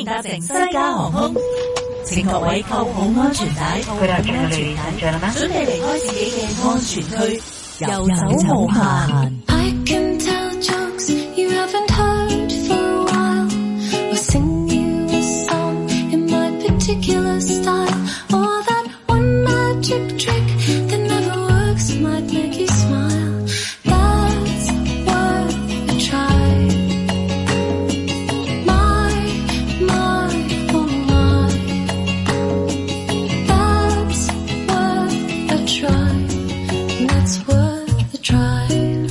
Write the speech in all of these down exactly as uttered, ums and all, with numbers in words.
搭乘西加航空，請各位扣好安全帶，扣好安全帶，準備離開自己嘅安全區，遊走無限。I can tell jokes you haven't heard for a while, or sing you a song in my particular style, or that one magic trick that never works might make you smile. That's worth a try. My, my, oh my. That's worth a try. That's worth a try.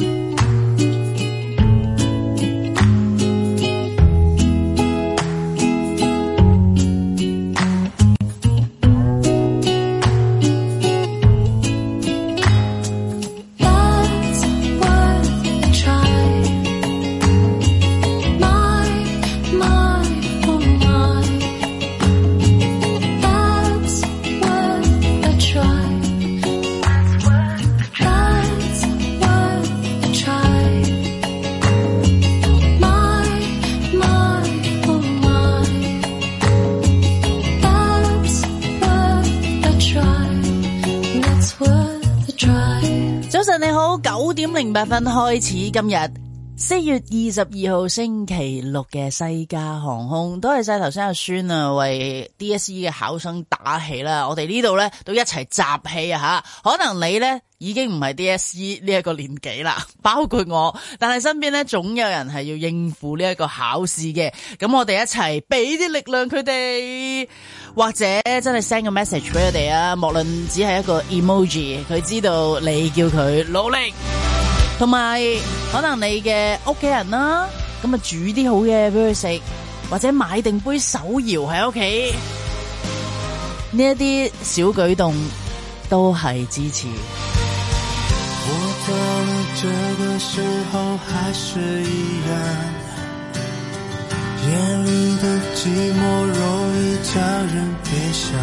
你好，九點零八分開始，今日四月二十二號星期六嘅西加航空，多謝晒頭先阿孫啊，為 D S E 嘅考生打氣啦。我哋呢度咧都一齊集氣啊吓，可能你咧已經唔係 D S E 呢一個年紀啦，包括我，但係身邊咧總有人係要應付呢一個考試嘅，咁我哋一齊俾啲力量佢哋。或者真係 send 個 message 俾佢哋啊，無論只係一個 emoji， 佢知道你叫佢努力，同埋可能你嘅屋企人啦，咁啊煮啲好嘢俾佢食，或者買定杯手搖喺屋企，呢一啲小舉動都係支持。 我到了這個時候還是一樣，夜裡的寂寞容易叫人悲傷，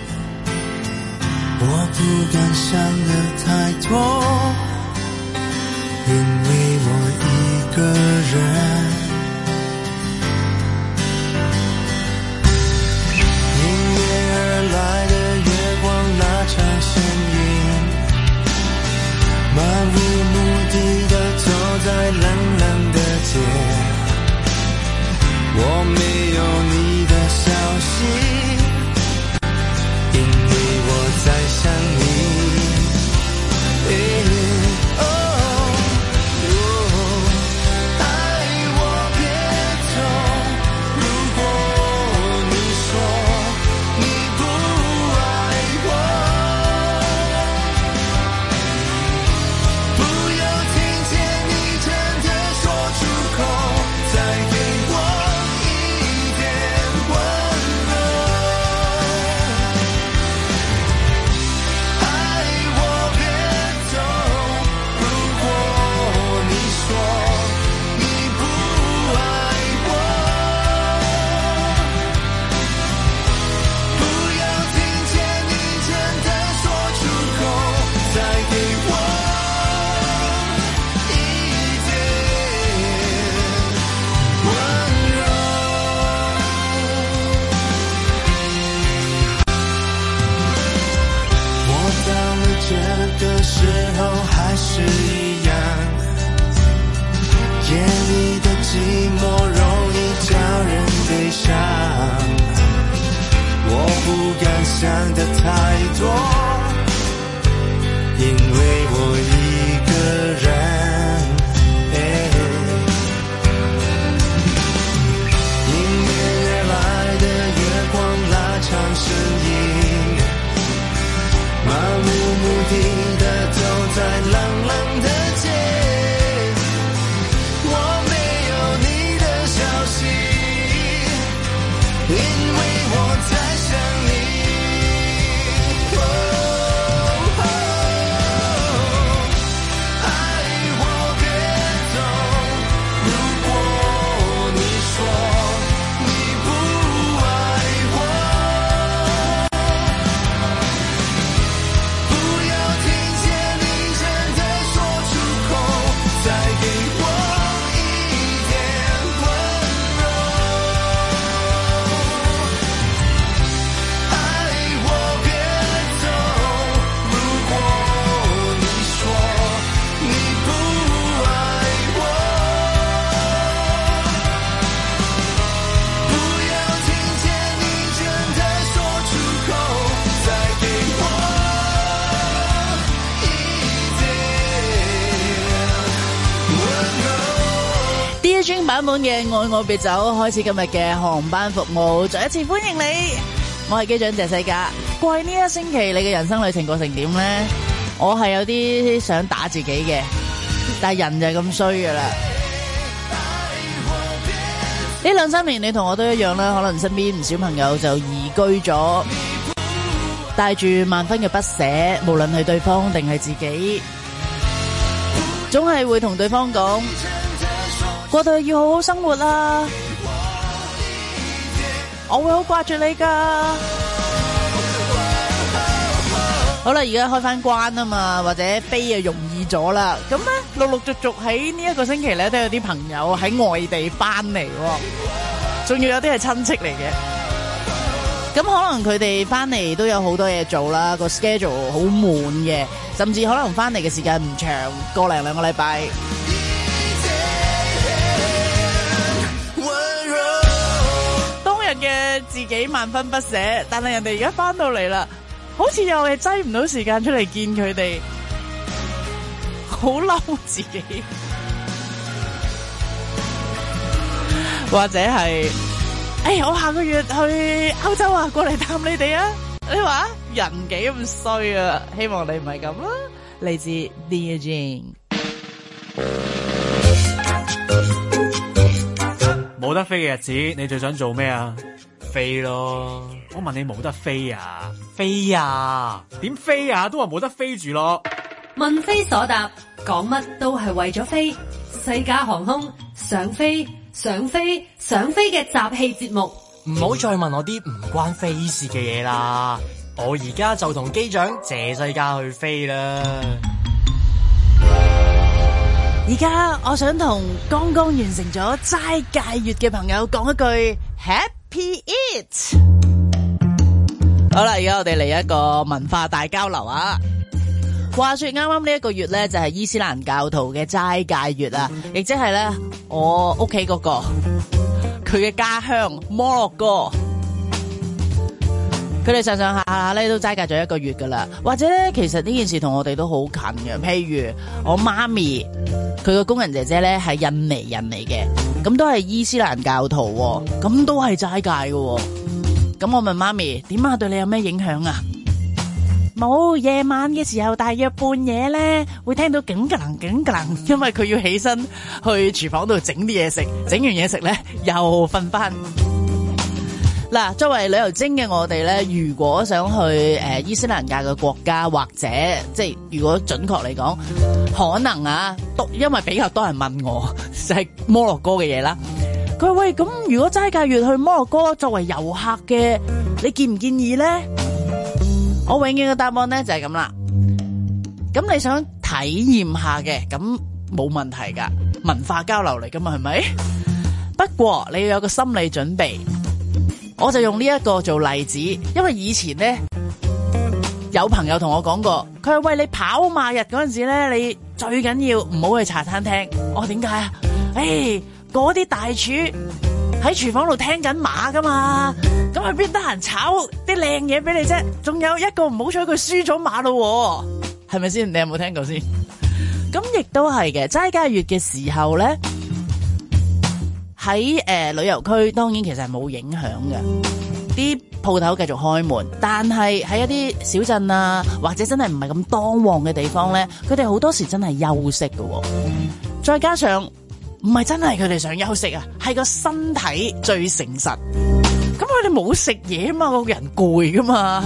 我不敢想得太多，因為我一個人。迎面而來的月光拉長身影，漫無目的的走在冷冷的街，我沒有你的消息，因為我在想你。哦哦，愛我別走，如果你說你不愛我，不要聽見你真的說出口，再給我時候還是一樣，夜裡的寂寞容易叫人悲傷，我不敢想得太多，因為我一個人，迎面而來的月光拉長身影，漫無目的的走在冷冷的街，我沒有你的消息，因為我在想你。哦哦，愛我別走，如果你說你不愛我，不要聽見你真的說出口，再給我一點溫柔。 本嘅愛愛別走，開始今日嘅航班服務，再一次歡迎你。我係機長謝世嘉。過去呢一星期你嘅人生旅程過成點呢？我係有啲想打自己嘅，但係人就係咁衰噶啦。呢兩三年你同我都一樣啦，可能身邊唔少朋友就移居咗，帶住萬分嘅不捨，無論係對方定係自己，總係會同對方講，過到要好好生活啦，我會好掛住你噶。好啦，而家開翻關啊嘛，或者飛啊容易咗啦。咁咧，陸陸續續喺呢一個星期咧，都有啲朋友喺外地翻嚟，仲要有啲係親戚嚟嘅。咁可能佢哋翻嚟都有好多嘢做啦，個 schedule 好滿嘅，甚至可能翻嚟嘅時間唔長，個零兩個禮拜。當日嘅自己萬分不捨，但係人哋而家翻到嚟啦。好似又係擠唔到時間出嚟見佢哋，好嬲自己，或者係，哎，我下個月去歐洲啊，過嚟探你哋啊！你話人幾咁衰啊？希望你唔係咁啦。嚟自 Dear Jane， 冇得飛嘅日子，你最想做咩啊？飛咯！我問你冇得飛啊？飛啊？點飛啊？都話冇得飛住咯。 問非所答，講乜都係為咗飛。西加航空想飛想飛想飛嘅集氣節目， 唔好再問我啲唔關飛事嘅嘢啦。我而家就同機長謝世嘉去飛啦。 而家我想同剛剛完成咗齋戒月嘅朋友講一句 Happy Eat。好啦，而家我哋嚟一個文化大交流啊！話說啱啱呢一個月咧，就係伊斯蘭教徒嘅齋戒月啊，亦即係咧我屋企嗰個佢嘅家鄉摩洛哥，佢哋上上下下咧都齋戒咗一個月噶啦。或者咧，其實呢件事同我哋都好近嘅。譬如我媽咪，佢個工人姐姐咧係印尼人嚟嘅，咁都係伊斯蘭教徒，咁都係齋戒嘅。咁我問媽咪，點啊？對你有咩影響啊？冇，夜晚嘅時候大約半夜咧會聽到警格能警格能，因為佢要起身去廚房度整啲嘢食，整完嘢食咧又瞓翻。嗱，作為旅遊精嘅我哋咧，如果想去誒、呃、伊斯蘭教嘅國家，或者即係如果準確嚟講，可能啊，都因為比較多人問我就係、是、摩洛哥嘅嘢啦。佢話喂，咁如果齋戒月去摩洛哥作為遊客嘅，你建唔建議咧？我永遠嘅答案咧就係咁啦。咁你想體驗下嘅，咁冇問題噶，文化交流嚟噶嘛，係咪？不過你要有個心理準備。我就用呢一個做例子，因為以前咧有朋友同我講過，佢話喂，你跑馬日嗰陣時咧，你最緊要唔好去茶餐廳。我話點解啊？誒，嗰啲大廚喺廚房度聽緊馬噶嘛，咁佢邊得閒炒啲靚嘢俾你啫？仲有一個唔好彩，佢輸咗馬咯，係咪先？你有冇聽過先？咁亦都係嘅，齋戒月嘅時候咧。喺誒、呃、旅遊區當然其實係冇影響嘅，啲鋪頭繼續開門，但係喺一啲小鎮啊，或者真係唔係咁當旺嘅地方咧，佢哋好多時真係休息嘅、哦。再加上唔係真係佢哋想休息啊，係個身體最誠實。咁佢哋冇食嘢啊嘛，個人攰噶嘛。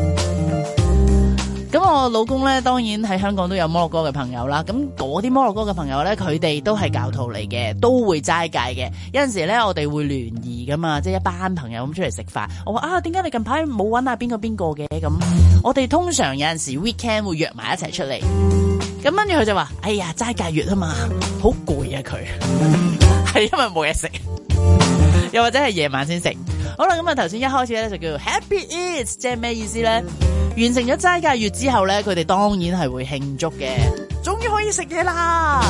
咁我老公咧，當然喺香港都有摩洛哥嘅朋友啦。咁嗰啲摩洛哥嘅朋友咧，佢哋都係教徒嚟嘅，都會齋戒嘅。有陣時咧，我哋會聯誼噶嘛，即係一班朋友咁出嚟食飯。我話啊，點解你近排冇搵下邊個邊個嘅？咁我哋通常有陣時 weekend 會約埋一齊出嚟。咁跟住佢就話：哎呀，齋戒月啊嘛，好攰啊佢，係因為冇嘢食，又或者係夜晚先食。好啦，咁啊頭先一開始咧就叫 Happy Eat， 即係咩意思咧？完成咗齋戒月之後咧，佢哋當然係會慶祝嘅，終於可以食嘢啦。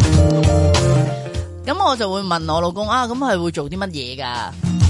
咁我就會問我老公啊，咁係會做啲乜嘢噶？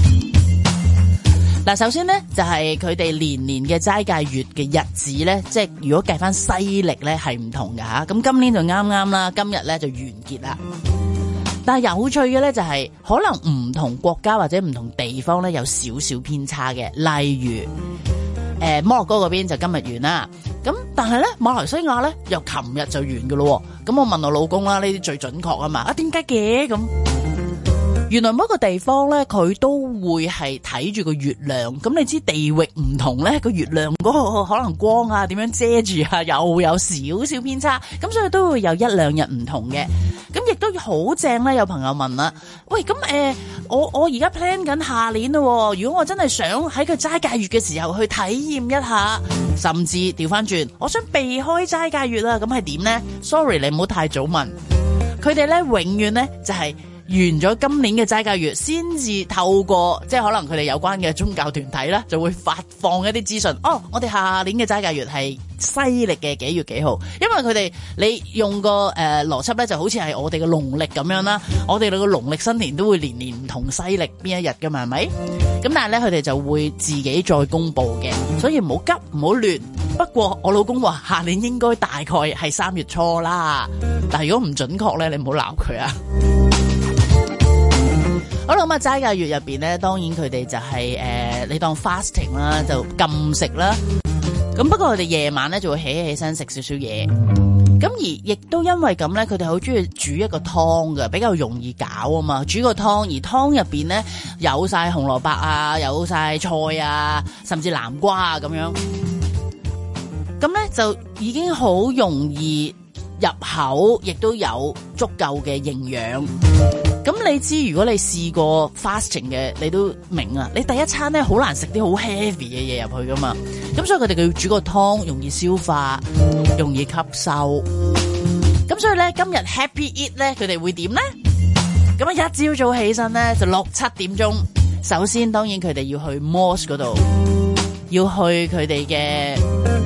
嗱，首先咧就係佢哋年年嘅齋戒月嘅日子咧，即係如果計翻西曆咧係唔同嘅吓。咁今年就啱啱啦，今日咧就完結啦。 但係有趣嘅咧就係、是、可能唔同國家或者唔同地方咧有少少偏差嘅，例如誒摩洛哥嗰邊就今日完啦，咁但係咧馬來西亞咧又琴日就完噶咯，咁我問我老公啦，呢啲最準確啊嘛，啊點解嘅咁？原來每一個地方咧，佢都會係睇住個月亮。咁你知地域唔同咧，個月亮嗰個可能光啊，點樣遮住啊，又有少少偏差。咁所以都會有一兩日唔同嘅。咁亦都好正咧。有朋友問啦，喂，咁誒、呃，我我而家 plan 緊下年咯。如果我真係想喺佢齋戒月嘅時候去體驗一下，甚至調翻轉，我想避開齋戒月啦，咁係點咧 ？Sorry， 你唔好太早問。佢哋咧永遠咧就係、是。完咗今年嘅齋戒月，先至透過即係可能佢哋有關嘅宗教團體啦，就會發放一啲資訊。哦，我哋下年嘅齋戒月係西曆嘅幾月幾號？因為佢哋你用個誒邏輯咧，就好似係我哋嘅農曆咁樣啦。我哋個農曆新年都會年年唔同西曆邊一日噶嘛，係咪？咁但係咧，佢哋就會自己再公布嘅，所以唔好急，唔好亂。不過我老公話下年應該大概係三月初啦，但係如果唔準確咧，你唔好鬧佢啊。好啦，咁啊齋戒月入邊咧，當然佢哋就係、是、誒、呃，你當 fasting 啦，就禁食啦。咁不過佢哋夜晚咧就會起起身食少少嘢。咁而亦都因為咁咧，佢哋好中意煮一個湯嘅，比較容易搞啊嘛。煮個湯，而湯入邊咧有晒紅蘿蔔啊，有晒菜啊，甚至南瓜啊咁樣。咁咧就已經好容易入口，亦都有足夠嘅營養。咁你知，如果你試過 fasting 嘅，你都明啊。你第一餐咧好難食啲好 heavy 嘅嘢入去噶嘛。咁所以佢哋要煮個湯，容易消化，容易吸收。咁所以咧，今日 Happy Eat 咧，佢哋會點咧？咁啊，一朝早起身咧，就六七點鐘。首先，當然佢哋要去 mosque 嗰度，要去佢哋嘅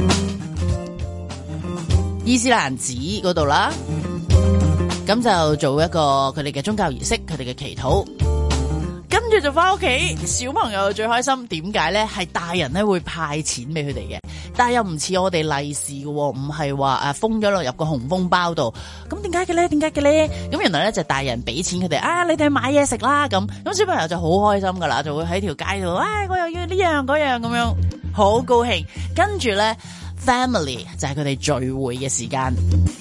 伊斯蘭寺嗰度啦。咁就做一個佢哋嘅宗教儀式，佢哋嘅祈禱，跟住就翻屋企。小朋友最開心，點解咧？係大人咧會派錢俾佢哋嘅，但係又唔似我哋利是嘅，唔係話誒封咗落入個紅封包度。咁點解嘅咧？點解嘅咧？咁原來咧就大人俾錢佢哋，啊你哋去買嘢食啦咁。咁小朋友就好開心噶啦，就會喺條街度，唉、哎、我又要呢樣嗰樣咁樣，好高興。跟住咧 family 就係佢哋聚會嘅時間。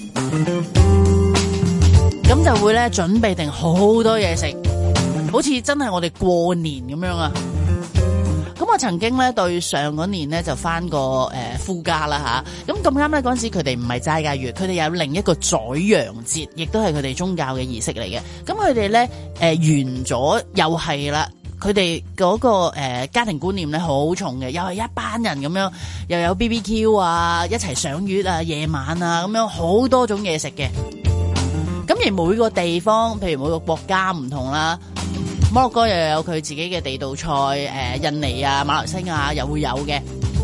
咁就會咧準備定好多嘢食，好似真係我哋過年咁樣啊！咁我曾經咧對上嗰年咧就翻過誒夫家啦吓，咁咁啱咧嗰陣時佢哋唔係齋戒月，佢哋有另一個宰羊節，亦都係佢哋宗教嘅儀式嚟嘅。咁佢哋咧誒完咗又係啦，佢哋嗰個誒、呃、家庭觀念咧好重嘅，又係一班人咁樣，又有 B B Q 啊，一齊賞月啊，夜晚啊咁樣好多種嘢食嘅。咁而每個地方，譬如每個國家唔同啦，摩洛哥又有佢自己嘅地道菜，誒、呃，印尼啊、馬來西亞又會有嘅。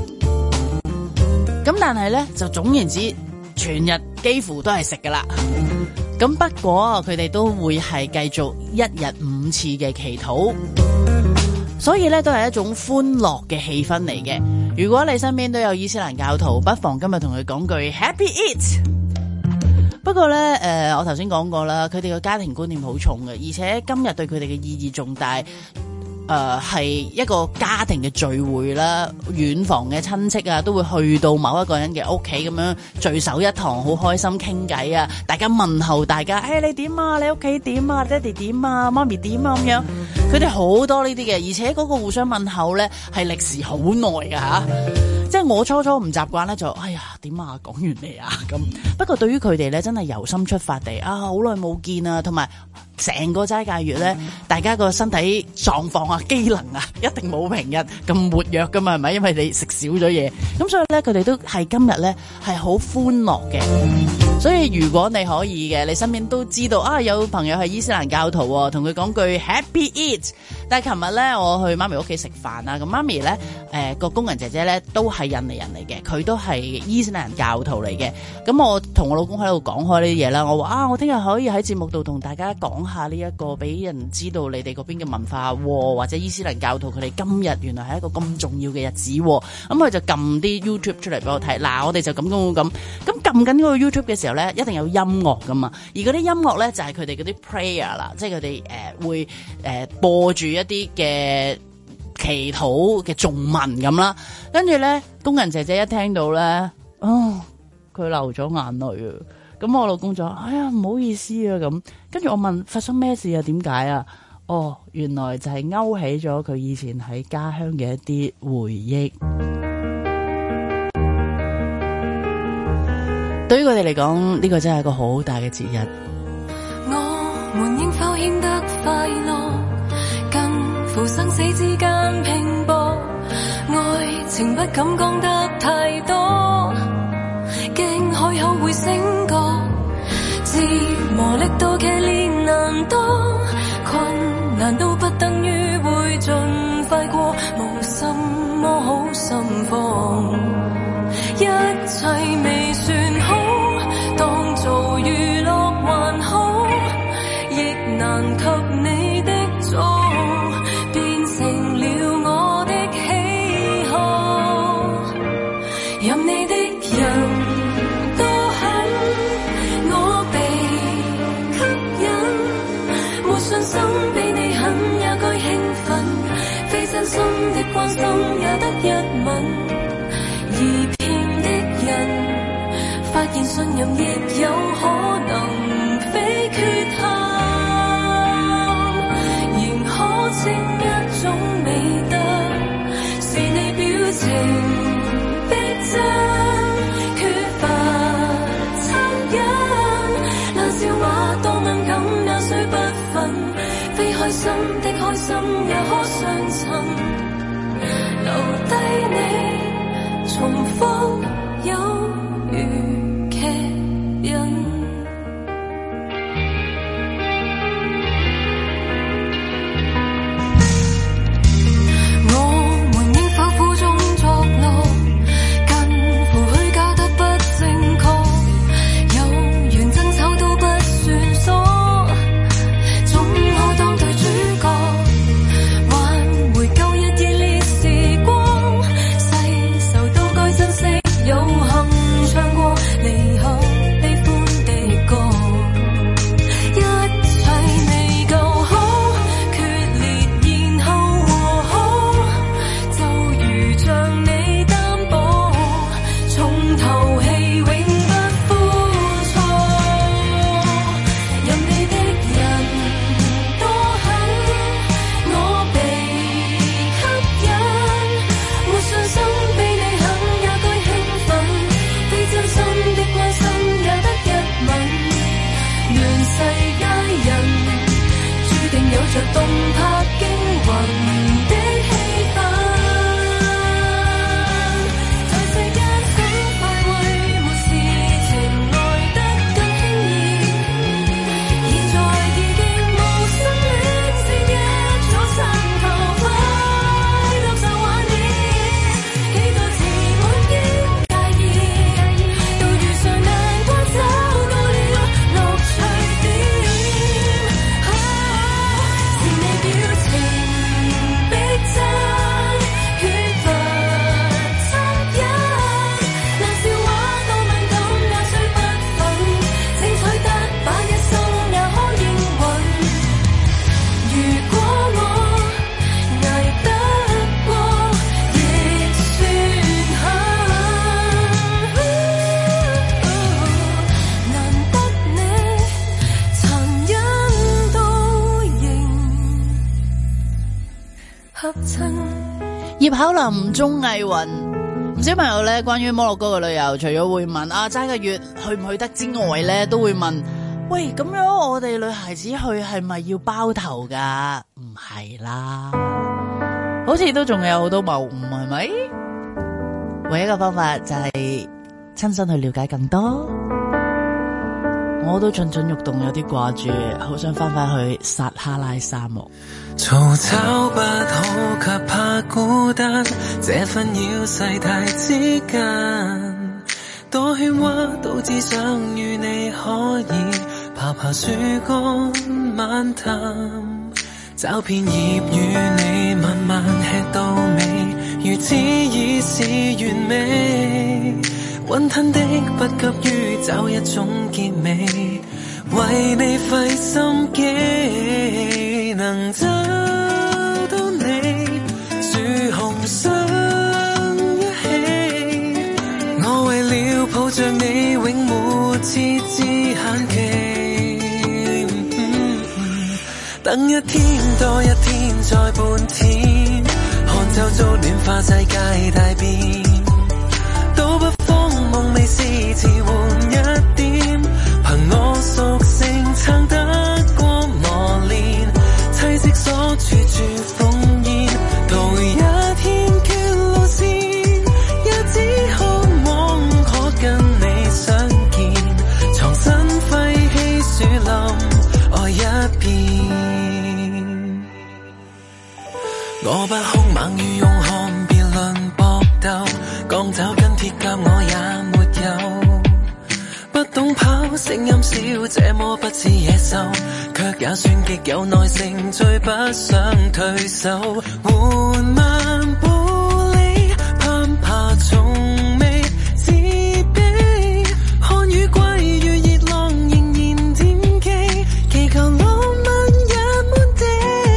咁但係咧，就總言之，全日幾乎都係食噶啦。咁不過佢哋都會係繼續一日五次嘅祈禱，所以咧都係一種歡樂嘅氣氛嚟嘅。如果你身邊都有伊斯蘭教徒，不妨今日同佢講句 Happy Eat。不過咧，誒、呃，我頭先講過啦，佢哋嘅家庭觀念好重嘅，而且今日對佢哋嘅意義重大。誒、呃，係一個家庭嘅聚會啦，遠房嘅親戚啊，都會去到某一個人嘅屋企咁樣聚首一堂，好開心傾偈啊！大家問候大家，誒、哎，你點啊？你屋企點啊？爹哋點啊？媽咪點啊？咁樣，佢哋好多呢啲嘅，而且嗰個互相問候咧係歷時好耐噶吓。即係我初初唔習慣咧，就哎呀點啊，講完未啊咁。不過對於佢哋咧，真係由心出發地啊，好耐冇見啊，同埋成個齋戒月咧，大家個身體狀況啊、機能啊，一定冇平日咁活躍噶嘛，係咪？因為你食少咗嘢，咁所以咧，佢哋都係今日咧係好歡樂嘅。所以如果你可以嘅，你身邊都知道啊，有朋友係伊斯蘭教徒，同佢講句 Happy Eat。但係琴日咧，我去媽咪屋企食飯啊，咁媽咪咧，誒、呃、個工人姐姐咧都係印尼人嚟嘅，佢都係伊斯蘭教徒嚟嘅。咁我同我老公喺度講開呢啲嘢啦，我話啊，我聽日可以喺節目度同大家講下呢一個俾人知道你哋嗰邊嘅文化，或者伊斯蘭教徒佢哋今日原來係一個咁重要嘅日子。咁佢就撳啲 YouTube 出嚟俾我睇，嗱，我哋就咁咁咁，咁撳緊嗰個 YouTube 嘅時候。 時候咧，一定有音樂噶嘛，而嗰啲音樂咧就係佢哋嗰啲 prayer 啦，即係佢哋誒會誒、呃、播住一啲嘅祈禱嘅頌文咁啦，跟住咧工人姐姐一聽到咧，哦，佢流咗眼淚啊！咁我老公就話：哎呀，唔好意思啊咁。跟住我問發生咩事啊？點解啊？哦，原來就係勾起咗佢以前喺家鄉嘅一啲回憶。對於佢哋嚟講，呢個真係一個好大嘅節日。 我們應否顯得快樂，近乎生死之間拼搏，愛情不敢講得太多，驚開口會醒覺，自磨礪到騎練難多，困難都不等於會盡快過，無什麼好心慌，一切未算好，當做娛樂還好，亦難及你的錯，變成了我的喜好，任你的人多狠，我被吸引，沒信心比你狠也該興奮，非真心的關心也得一吻，而騙的人發現信任亦有可能非缺陷，仍可稱一種美德，是你表情逼真，缺乏惻隱，冷笑話多敏感也雖不忿，非開心的開心也可相襯，留低你重複有如劇印。我們應否苦中作樂，近乎虛假得不正確，有緣爭吵都不算數，總可當對主角，挽回舊日熱烈時光，世仇都該珍惜，有幸唱過離合悲歡的歌，一切未夠好，決裂然後和好，就如像你擔保，重頭戲永不枯燥，任你的人多狠，我被吸引，沒信心比你狠也該興奮，非真心的關心也得一吻，願世佳人注定有着動魄驚魂的氣氛，在世間很快會沒事情來得更輕易，現在已經無心戀是一座山頭，快樂就幻滅，期待遲滿應介意，到遇上難關找到了樂趣點，是你表情逼真，缺乏惻隱，冷笑話多敏感也雖不忿，精彩得把一生也可應允，如果我捱得過亦算狠，難得你殘忍都仍合襯。 葉巧琳、鍾藝雲，唔少朋友咧，關於摩洛哥嘅旅遊，除咗會問啊齋個月去唔去得之外咧，都會問：喂，咁樣我哋女孩子去係咪要包頭噶？唔係啦，好似都仲有好多謬誤，係咪？唯一嘅方法就係親身去了解更多。我都蠢蠢欲動，有啲掛住，好想翻返去撒哈拉沙漠。 嘈吵不好，卻怕孤單，這紛擾世態之間，多喧嘩都只想與你可以爬爬樹幹漫談，找片葉與你慢慢吃到尾，如此已是完美，雲吞的不急於找一種結尾，為你費心機，能找到你樹紅相一起，我為了抱着你永沒設置限期，嗯，等一天多一天再半天，看周遭暖化世界大變，都不慌夢未試遲換一點，憑我屬性撐得過磨練，棲息所處處烽煙，途一天缺路線，也只渴望可跟你相見，藏身廢棄樹林愛一片，我不兇猛於勇悍別論搏鬥，鋼爪跟鐵甲我也沒有，不懂跑聲音小這麼不似野獸，卻也算極有耐性，最不想退手，緩慢步履攀爬從未自卑，看雨季如熱浪仍然惦記，祈求浪漫也滿地，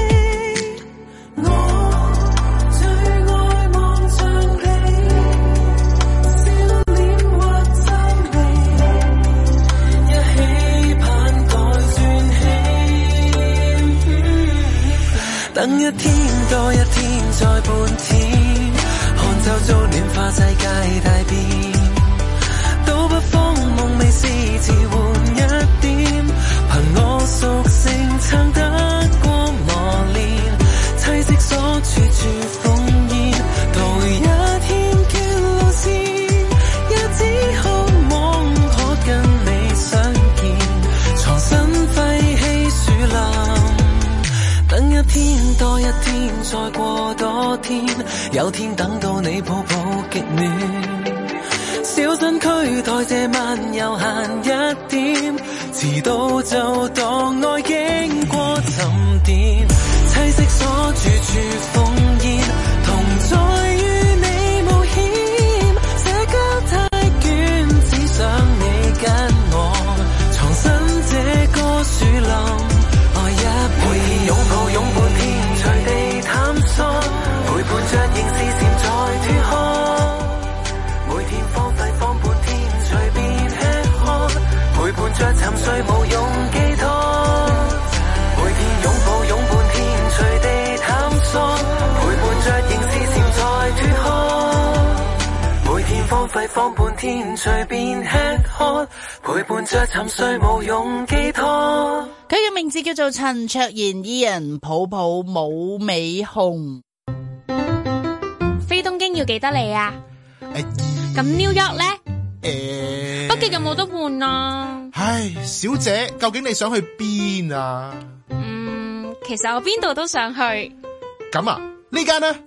我最愛望着你笑臉或皺眉，一起盼待轉起，等一天多一天再半天，看周遭暖化世界大變，都不慌夢未試遲換一點，憑我屬性撐得過磨練，棲息所處處烽煙，途一天缺路線，也只渴望可跟你相見，藏身廢棄樹林，等一天多一天再過多天，有天等到你抱抱極暖，小身軀代謝慢悠閒一點，遲到就當愛經過沉澱，棲息所處處烽煙，同在與你冒險，社交太倦，只想你跟我藏身這個樹林愛一片，每天擁抱擁抱天隨地探索，陪伴着仍是潛在脫殼，每天荒廢放半天隨便吃喝，陪伴着沉睡無用寄託，每天擁抱擁抱天隨地探索，陪伴着仍是潛在脫殼，每天荒廢放半天隨便吃喝，陪伴着沉睡無用寄託。 佢嘅名字叫做陳卓賢，伊人抱抱冇尾熊。 飛東京要幾多里啊？咁 New York 咧？誒，北極有冇得換啊？ 唉，小姐，究竟你想去邊啊？ 嗯，其實我邊度都想去。 咁啊，呢間呢？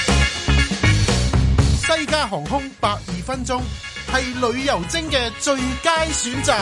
西加航空百二分鐘係旅遊精嘅最佳選擇。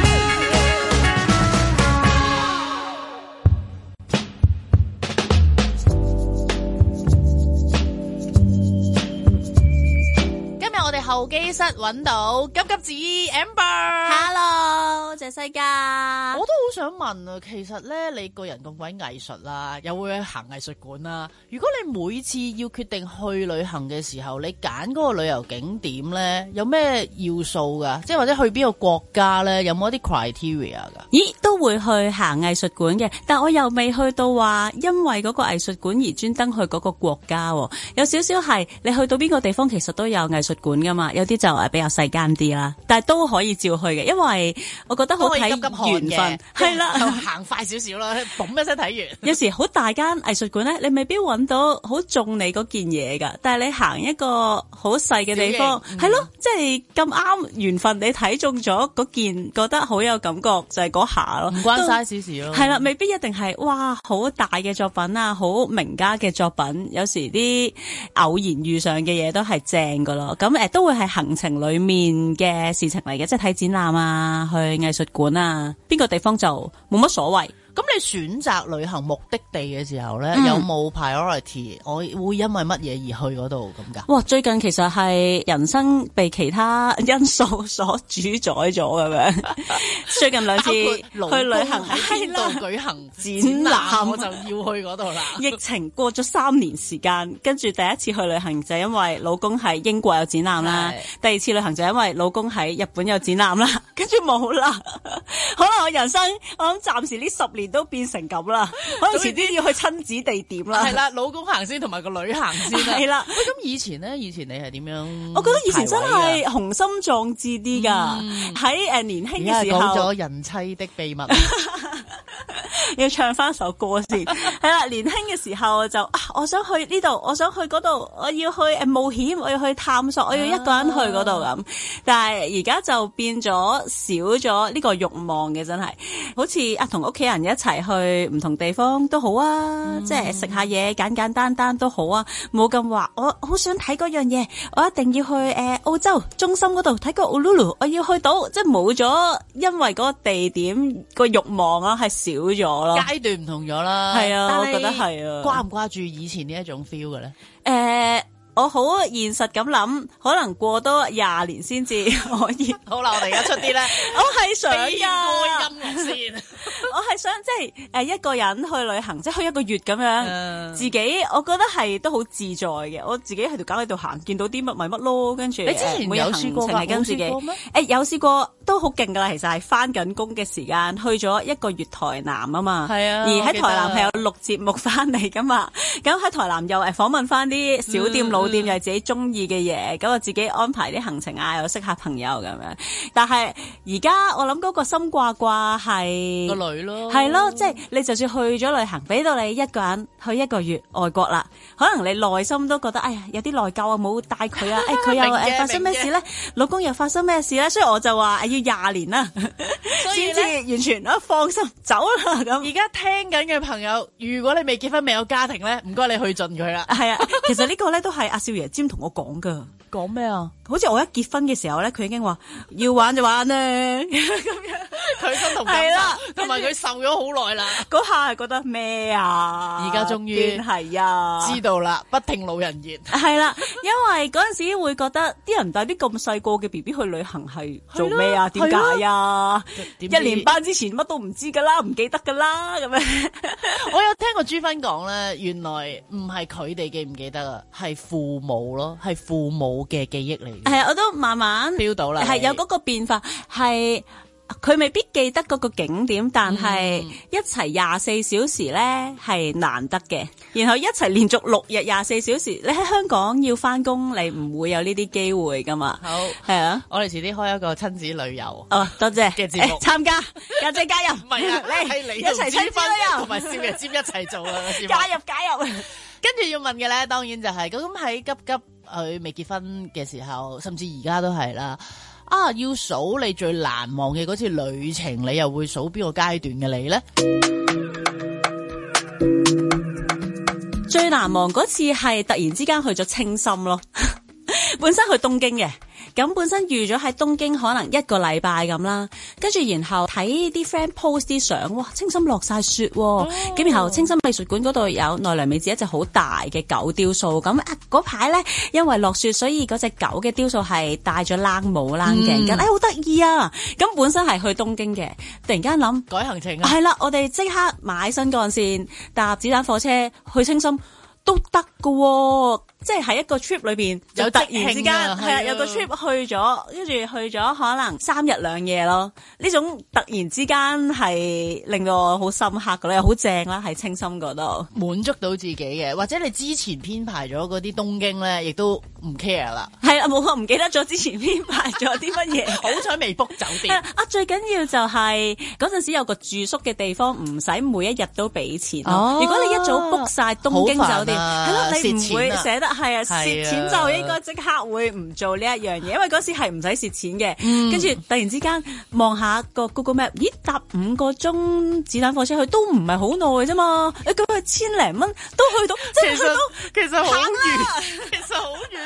候機室揾到急急子 Amber，Hello， 謝西加。我都好想問啊，其實咧你個人咁鬼藝術啦，又會去行藝術館啦。如果你每次要決定去旅行嘅時候，你揀嗰個旅遊景點咧，有咩要素噶？即係或者去邊個國家咧，有冇一啲 criteria 噶？ 咦，都會去行藝術館嘅，但我又未去到話因為嗰個藝術館而專登去嗰個國家。有少少係你去到邊個地方，其實都有藝術館噶嘛，有啲就係比較細間啲啦，但係都可以照去嘅，因為我覺得好睇緣分，係啦， 行快少少啦，嘣一聲睇完。有時好大間藝術館咧，你未必揾到好中你嗰件嘢噶，但係你行一個好細嘅地方，係咯，即係咁啱緣分，你睇中咗嗰件，覺得好有感覺，就係嗰下咯，唔關 size 事咯。係啦，未必一定係哇好大嘅作品啊，好名家嘅作品，有時啲偶然遇上嘅嘢都係正噶咯。咁誒都會係行程裏面嘅事情嚟嘅，即係睇展覽啊，去藝術館啊，邊個地方就冇乜所謂。 咁你選擇旅行目的地嘅時候咧， 嗯、 有冇 priority？我會因為乜嘢而去嗰度咁噶？ 哇！最近其實係人生被其他因素所主宰咗咁樣。最近兩次去旅行喺邊度舉行展覽， 我就要去嗰度啦。 疫情過咗三年時間，跟住第一次去旅行就因為老公喺英國有展覽啦，第二次旅行就因為老公喺日本有展覽啦，跟住冇啦。可能我人生我諗暫時呢十年都變成咁啦，可能遲啲要去親子地點啦。 係啦，老公行先，同埋個女行先啦。係啦。咁以前咧，以前你係點樣？ 我覺得以前真係雄心壯志啲噶，喺誒年輕嘅時候。 講咗人妻的秘密， 要唱翻首歌先。係啦，年輕嘅時候就啊，我想去呢度，我想去嗰度，我要去誒冒險，我要去探索，我要一個人去嗰度咁。但係而家就變咗少咗呢個慾望嘅，真係好似啊同屋企人一齊去唔同地方都好啊，嗯、即係食下嘢簡簡單單都好啊，冇咁話我好想睇嗰樣嘢，我一定要去誒、呃、澳洲中心嗰度睇個 Uluru， 我要去到，即係冇咗，因為嗰個地點個慾望啊係少咗咯， 階段唔同咗啦。 係啊，我覺得係啊。 掛唔掛住以前呢一種 feel 嘅咧？ 誒、呃。我好現實咁諗，可能過多廿年先至可以。 好啦，我哋而家出啲咧， 我係想噶。 音樂先， 我係想即係誒一個人去旅行，即係去一個月咁樣，嗯、自己我覺得係都好自在嘅。我自己喺條街喺度行，見到啲乜咪乜咯，跟住你之前有試過㗎？ 跟自己誒有試過，都好勁噶啦。其實係翻緊工嘅時間去咗一個月台南啊嘛，係啊，而喺台南係有錄節目翻嚟噶嘛。咁喺台南又誒訪問翻啲小店老、嗯。店又係自己中意嘅嘢，咁我自己安排啲行程啊，又識下朋友咁樣。但係而家我諗嗰個心掛掛係個女咯， 係咯，即係你就算去咗旅行，俾到你一個人去一個月外國啦，可能你內心都覺得哎呀有啲內疚啊，冇帶佢啊，誒佢又誒發生咩事咧？老公又發生咩事咧？所以我就話要廿年啦，先至完全啊放心走啦咁。 而家聽緊嘅朋友，如果你未結婚未有家庭咧，唔該你去盡佢啦。 係啊，其實呢個咧都係阿少爺尖同我講噶。 講咩啊？ 好似我一結婚嘅時候咧，佢已經話要玩就玩咧，咁樣佢身同感受，同埋佢受咗好耐啦。 嗰下係覺得咩啊？ 而家終於係啊， 知道啦，不聽老人言。 係啦，因為嗰陣時會覺得啲人帶啲咁細個嘅 B B 去旅行係做咩啊？點解啊？一年班之前乜都唔知噶啦，唔記得噶啦咁樣。 我有聽過朱芬講咧，原來唔係佢哋記唔記得啊，係父母咯，係父母嘅記憶嚟。 係啊，我都慢慢 feel 到啦， 係有嗰個變化，係佢未必記得嗰個景點，但係一齊廿四小時咧係難得嘅。然後一齊連續六日廿四小時，你喺香港要翻工，你唔會有呢啲機會噶嘛。好係啊， 我哋遲啲開一個親子旅遊哦，多謝嘅節目參加，家姐加入， 唔係啊，你係你一齊親子旅遊同埋少爺尖一齊做啊， 加入加入。 跟住要問嘅咧，當然就係咁喺急急佢未結婚嘅時候，甚至而家都係啦。啊，要數你最難忘嘅嗰次旅程，你又會數邊個階段嘅你咧？ 最難忘嗰次係突然之間去咗青森咯，本身去東京嘅。咁本身預咗喺東京可能一個禮拜咁啦，跟住然後睇啲 friend post 啲相，哇，青森落晒雪，咁、哦、然後青森美術館嗰度有奈良美智一隻好大嘅狗雕塑，咁啊嗰排咧因為落雪，所以嗰隻狗嘅雕塑係戴咗冷帽冷鏡巾，誒好得意啊！咁本身係去東京嘅，突然間諗改行程啊， 係啦，我哋即刻買新幹線搭子彈火車去青森都得噶。即係喺一個 trip 裏邊，就突然之間係啊，有個 trip 去咗，跟住去咗可能三日兩夜咯。呢種突然之間係令到我好深刻噶咧，又好正啦，喺青森嗰度滿足到自己嘅，或者你之前編排咗嗰啲東京咧，亦都唔 care 啦。 係啊，冇我唔記得咗之前編排咗啲乜嘢， 好彩未 book 酒店。 啊，最緊要就係嗰陣時有個住宿嘅地方，唔使每一日都俾錢。 哦， 如果你一早 book 晒東京酒店，係咯， 啊， 你唔會捨得。係啊，蝕錢就應該即刻會唔做呢一樣嘢，因為嗰時係唔使蝕錢嘅。跟住，嗯，突然之間望下個 Google Map，咦，搭五個鐘子彈火車去都唔係好耐啫嘛。你咁佢千零蚊都去到，即係去到其實好遠，其實好遠。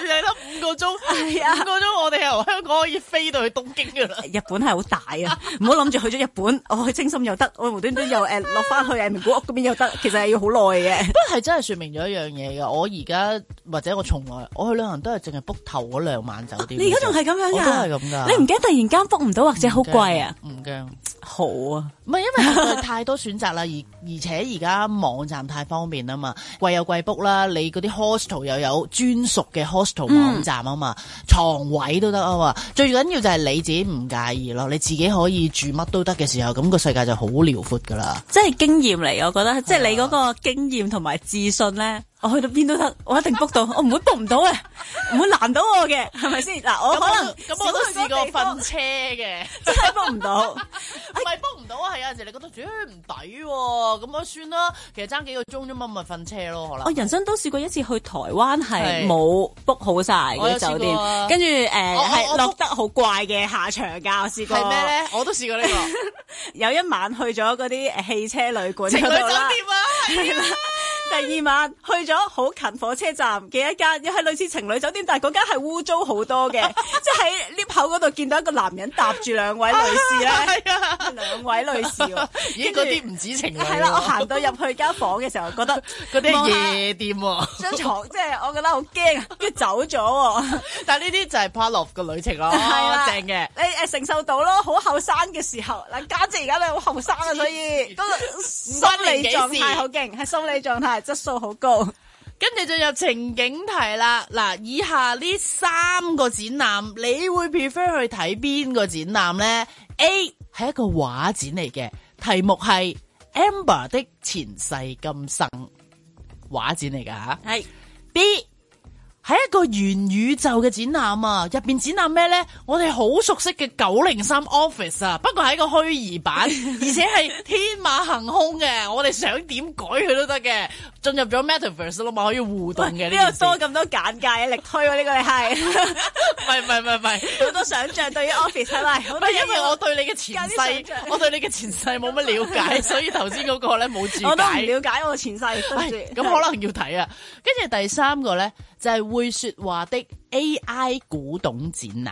你諗五個鐘，係啊，五個鐘我哋由香港可以飛到去東京噶啦。 日本係好大啊，唔好諗住去咗日本，我去青森又得，我無端端又誒落翻去誒名古屋嗰邊又得，其實係要好耐嘅。 不過係真係說明咗一樣嘢噶，我而家或者我從來我去旅行都係淨係 book 頭嗰兩晚酒店。 你而家仲係咁樣噶？ 我都係咁噶。 你唔驚突然間 book 唔到或者好貴啊？ 唔驚， 好啊。 唔係因為實在太多選擇啦，而而且而家網站太方便啊嘛，貴有貴 book 啦，你嗰啲 hostel 又有專屬嘅 hostel 網站啊嘛，床、嗯、位都得啊嘛，最緊要就係你自己唔介意咯，你自己可以住乜都得嘅時候，咁、那個世界就好遼闊噶啦。 即係經驗嚟，我覺得，即係你嗰個經驗同埋自信咧。我去到邊都得，我一定 book 到，我唔會 book 唔到嘅，唔會難到我嘅，係咪先？嗱，我可能咁我都試過瞓車嘅， 真係 book 唔到， 唔係 book 唔到啊，係有陣時你覺得，誒唔抵喎，咁我算啦，其實爭幾個鐘啫嘛，咪瞓車咯，可能。我人生都試過一次去台灣係冇 book 好晒嗰啲酒店，跟住誒係落得好怪嘅下場㗎，我試過。係咩咧？ 我都試過呢個， 有一晚去咗嗰啲誒汽車旅館情侶酒店啦， 啊，係啦。 第二晚去咗好近火車站嘅一間，又係類似情侶酒店，但係嗰間係污糟好多嘅，即係喺 lift 口嗰度見到一個男人搭住兩位女士咧，係啊，兩位女士喎， 咦嗰啲唔止情侶。 係啦，我行到入去間房嘅時候，覺得嗰啲係夜店喎， 張床即係我覺得好驚，跟住走咗。但係呢啲就係 part of 個旅程咯，係啦，正嘅，你誒承受到咯，好後生嘅時候，嗱家姐而家都好後生啊，所以都心理狀態好勁，係心理狀態。質素好高， 跟住進入情景題啦。嗱，以下呢三個展覽，你會 prefer 去睇邊個展覽呢？ A 係一個畫展嚟嘅，題目係 Amber 的前世今生，畫展嚟噶吓。係 B 係一個元宇宙嘅展覽啊，入邊展覽咩呢？我哋好熟悉嘅九零三 Office 啊，不過係一個虛擬版，而且係天馬行空嘅，我哋想點改佢都得嘅。進入咗 Metaverse 咯嘛，可以互動嘅。呢個多咁多簡介力推喎，呢個你係。 唔係唔係唔係唔係， 好多想像對於 Office 係咪？ 唔係因為我對你嘅前世，我對你嘅前世冇乜了解，所以頭先嗰個咧冇注解。 我都唔了解我前世，對住。咁可能要睇啊。跟住第三個咧就係會說話的 A I 古董展覽。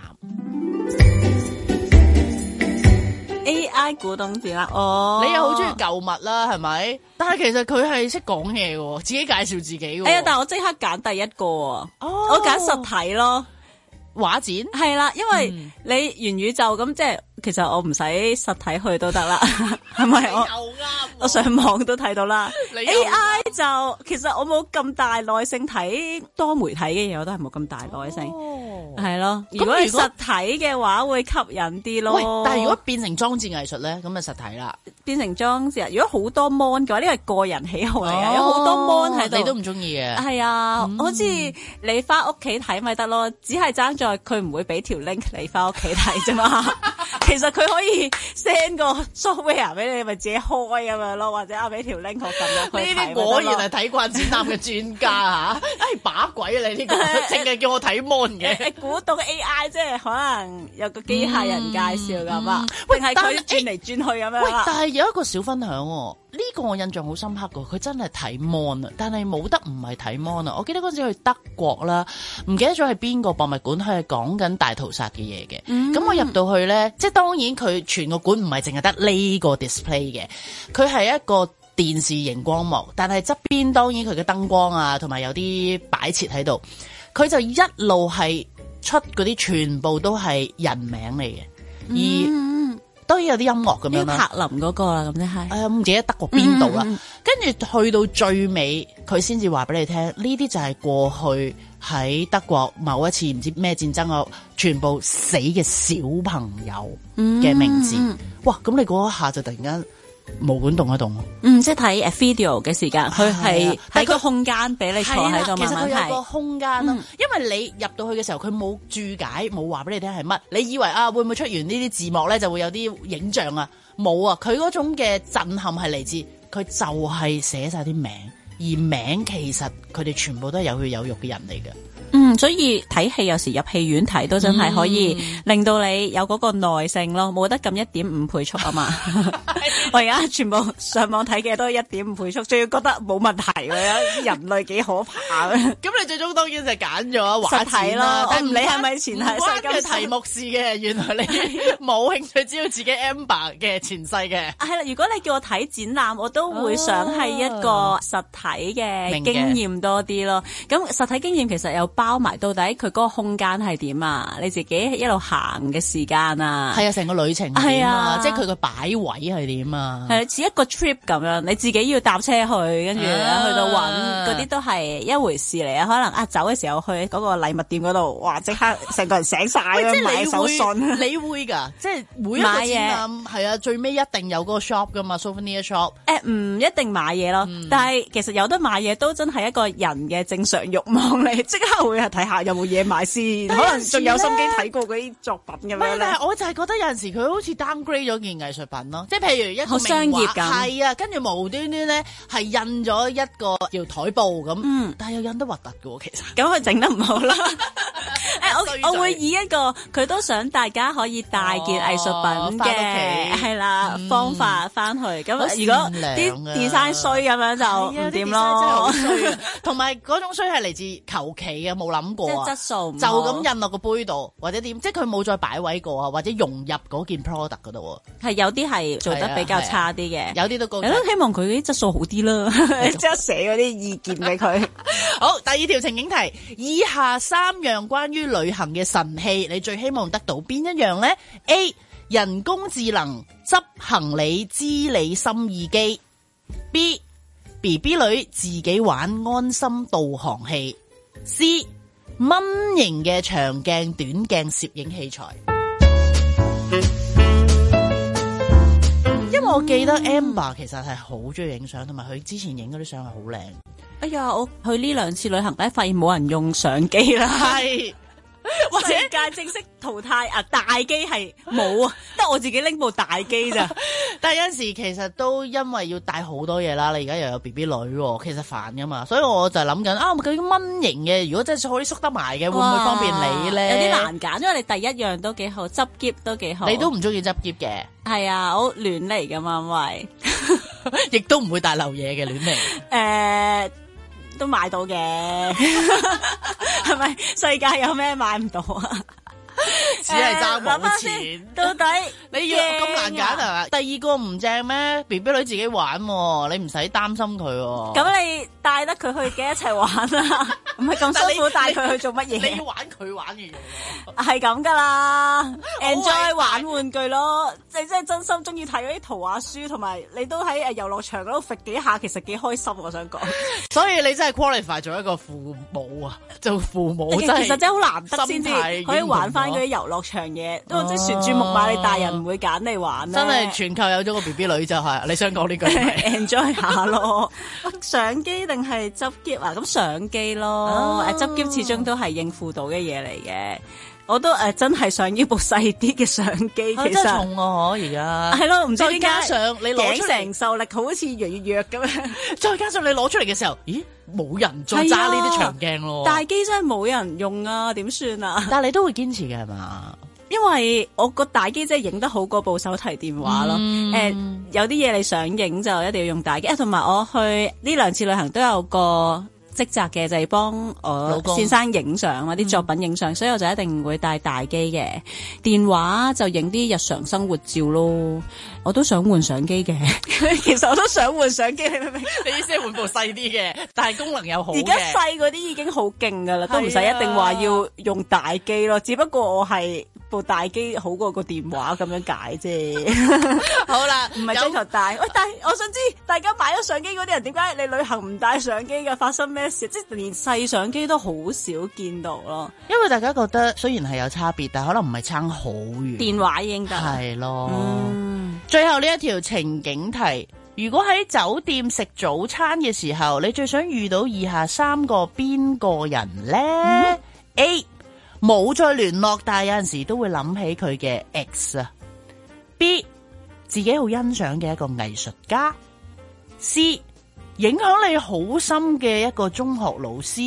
A I 古董展覽，哦， 你又好中意舊物啦，係咪？但係其實佢係識講嘢嘅，自己介紹自己嘅。 哎呀，但係我即刻揀第一個，哦、我揀實體咯， 畫展係啦，因為你元宇宙咁即係。其實我唔使實體去都得啦，係咪？我我上網都睇到啦。A I 就其實我冇咁大耐性睇多媒體嘅嘢，我都係冇咁大耐性，係咯、哦。如果係實體嘅話，會吸引啲咯。 喂，但係如果變成裝置藝術咧，咁就實體啦。 變成裝置，如果好多 mon 嘅話，呢個係個人喜好嚟嘅，哦、有好多 mon 喺度， 你都唔中意嘅。 係啊，嗯、好似你翻屋企睇咪得咯，只係爭在佢唔會俾條 link 你翻屋企睇啫嘛。其實佢可以 send 個 software 俾你，咪自己開咁樣咯，或者啊俾條 link 我撳落去睇。呢啲果然係睇慣展覽嘅專家吓，哎把鬼啊你呢個，淨係叫我睇 mon 嘅。古董 A I 即係可能有個機械人介紹咁啊，定係佢轉嚟轉去咁樣。喂， 但係有一個小分享喎，呢個我印象好深刻噶，佢真係睇 mon 啊，但係冇得唔係睇 mon 啊。我記得嗰陣時去德國啦，唔記得咗係邊個博物館，佢係講緊大屠殺嘅嘢嘅。咁、嗯、我入到去咧，即係當然佢全個館唔係淨係得呢個 display 嘅，佢係一個電視熒光幕，但係側邊當然佢嘅燈光啊，同埋有啲擺設喺度，佢就一路係出嗰啲全部都係人名嚟嘅，而、嗯、當然有啲音樂咁樣啦。 柏林嗰個啦，咁即係， 誒唔記得德國邊度啦，跟住、嗯、去到最尾，佢先至話俾你聽，呢啲就係過去喺德國某一次唔知咩戰爭啊，全部死嘅小朋友嘅名字。嗯、哇！咁你嗰一下就突然間毛管動一動。 嗯，即係睇誒 video 嘅時間，佢係喺個空間俾你坐喺度慢慢睇。 其實佢有個空間咯，嗯、因為你入到去嘅時候，佢冇注解，冇話俾你聽係乜。你以為啊，會唔會出完呢啲字幕咧，就會有啲影像啊？冇啊！佢嗰種嘅震撼係嚟自佢就係寫晒啲名。而名其實佢哋全部都係有血有肉嘅人嚟嘅， 嗯，所以睇戲有時入戲院睇都真係可以令到你有嗰個耐性咯，冇得撳一點五倍速啊嘛。我而家全部上網睇嘅都係一點五倍速，仲要覺得冇問題嘅，人類幾可怕嘅。咁你最終當然就揀咗實體咯，我唔理係咪前世關嘅題目事嘅，原來你冇興趣知道自己 Amber 嘅前世嘅。 係啦，如果你叫我睇展覽，我都會想係一個實體嘅經驗多啲咯。咁實體經驗其實又包埋到底佢嗰個空間係點啊？你自己一路行嘅時間啊， 係啊，成個旅程係點啊？即係佢個擺位係點啊？ 係似一個 trip 咁樣，你自己要搭車去，跟住去到揾嗰啲都係一回事嚟啊！可能啊走嘅時候去嗰個禮物店嗰度，哇！即刻成個人醒晒咁買手信， 你會㗎？即係每一個展覽係啊，最尾一定有嗰個 shop 㗎嘛 ，souvenir shop。 誒唔一定買嘢咯，嗯、但係其實有得買嘢都真係一個人嘅正常慾望嚟，即刻會係睇下有冇嘢買先，可能仲有心機睇過嗰啲作品咁樣咧。 我就係覺得有陣時佢好似 downgrade 咗件藝術品咯，即係譬如一個好商業咁， 係啊，跟住無端端咧係印咗一個叫台布咁，嗯，但係又印得核突嘅喎，其實咁佢整得唔好啦。誒，我我會以一個佢都想大家可以帶件藝術品嘅係啦方法翻去。咁如果啲 design 衰咁樣就唔掂咯。 同埋嗰種衰係嚟自求其嘅，冇諗過啊， 質素就咁印落個杯度或者點，即係佢冇再擺位過啊，或者融入嗰件 product 嗰度。係有啲係做得比較差啲嘅， 有啲都高。 希望佢啲質素好啲啦，即刻寫嗰啲意見俾佢。 好，第二條情景題，以下三樣關於旅行嘅神器，你最希望得到邊一樣呢？ A. 人工智能執行李知你心意機。 B. B B 女自己玩安心導航器。 C. 蚊型嘅長鏡短鏡攝影器材。因為我記得 Amber 其實係好中意影相，同埋佢之前影嗰啲相係好靚。 哎呀，我去呢兩次旅行咧，發現冇人用相機啦。 係。或者世界正式淘汰啊！大機係冇啊，得我自己拎部大機咋。 但係有陣時其實都因為要帶好多嘢啦，你而家又有 B B 女，其實煩噶嘛，所以我就諗緊啊，究竟蚊型嘅，如果真係可以縮得埋嘅，會唔會方便你咧？ 有啲難揀，因為你第一樣都幾好，執篋都幾好。 你都唔中意執篋嘅？係啊，我亂嚟噶嘛，因為亦都唔會帶漏嘢嘅亂嚟。 誒。都買到嘅，係咪世界有咩買唔到啊？ 只係爭冇錢。 到底你要咁難揀係嘛？第二個唔正咩 ？B B 女自己玩，你唔使擔心佢。 咁你帶得佢去嘅一齊玩啊？唔係咁辛苦帶佢去做乜嘢？ 你要玩佢玩嘅嘢， 係咁噶啦。enjoy 玩玩具咯，即係即係真心中意睇嗰啲圖畫書，同埋你都喺誒遊樂場嗰度揈幾下，其實幾開心。我想講， 所以你真係 qualify 做一個父母啊，做父母真係其實真係好難得先至可以玩翻嗰啲遊樂場嘢，都即係旋轉木馬，你大人唔會揀你玩咧。 真係全球有咗個 B B 女就係，你想講呢句 enjoy 下咯。相機定係執篋啊？咁相機咯，誒執篋始終都係應付到嘅嘢嚟嘅。我都誒、呃、真係想要部細啲嘅相機，其實真係重啊！而家係咯，唔知點解加上你攞出嚟承受力好似越嚟越弱咁樣。 再加上你攞出嚟嘅時候，咦，冇人再揸呢啲長鏡咯。 大機真係冇人用啊，點算啊？ 但係你都會堅持嘅係嘛？ 因為我個大機真係影得好過部手提電話咯。誒、嗯呃，有啲嘢你想影就一定要用大機。同埋我去呢兩次旅行都有個職責嘅，就係幫我先生影相啊，啲作品影相，嗯、所以我就一定會帶大機嘅。電話就影啲日常生活照咯。我都想換相機嘅，其實我都想換相機，你明唔明？ 你意思係換部細啲嘅，但係功能又好嘅。 而家細嗰啲已經好勁噶啦，都唔使一定話要用大機咯。只不過我係部大機好過個電話咁樣解啫。好啦，唔係追求大。喂，但係我想知大家買咗相機嗰啲人，點解你旅行唔帶相機嘅？發生咩事？即係連細相機都好少見到咯。 因為大家覺得雖然係有差別，但係可能唔係差好遠。 電話已經得。係咯。嗯，最後呢一條情景題，如果喺酒店食早餐嘅時候，你最想遇到以下三個邊個人呢？嗯、A 冇再聯絡，但係有陣時都會諗起佢嘅 ex 啊。B 自己好欣賞嘅一個藝術家。C 影響你好深嘅一個中學老師。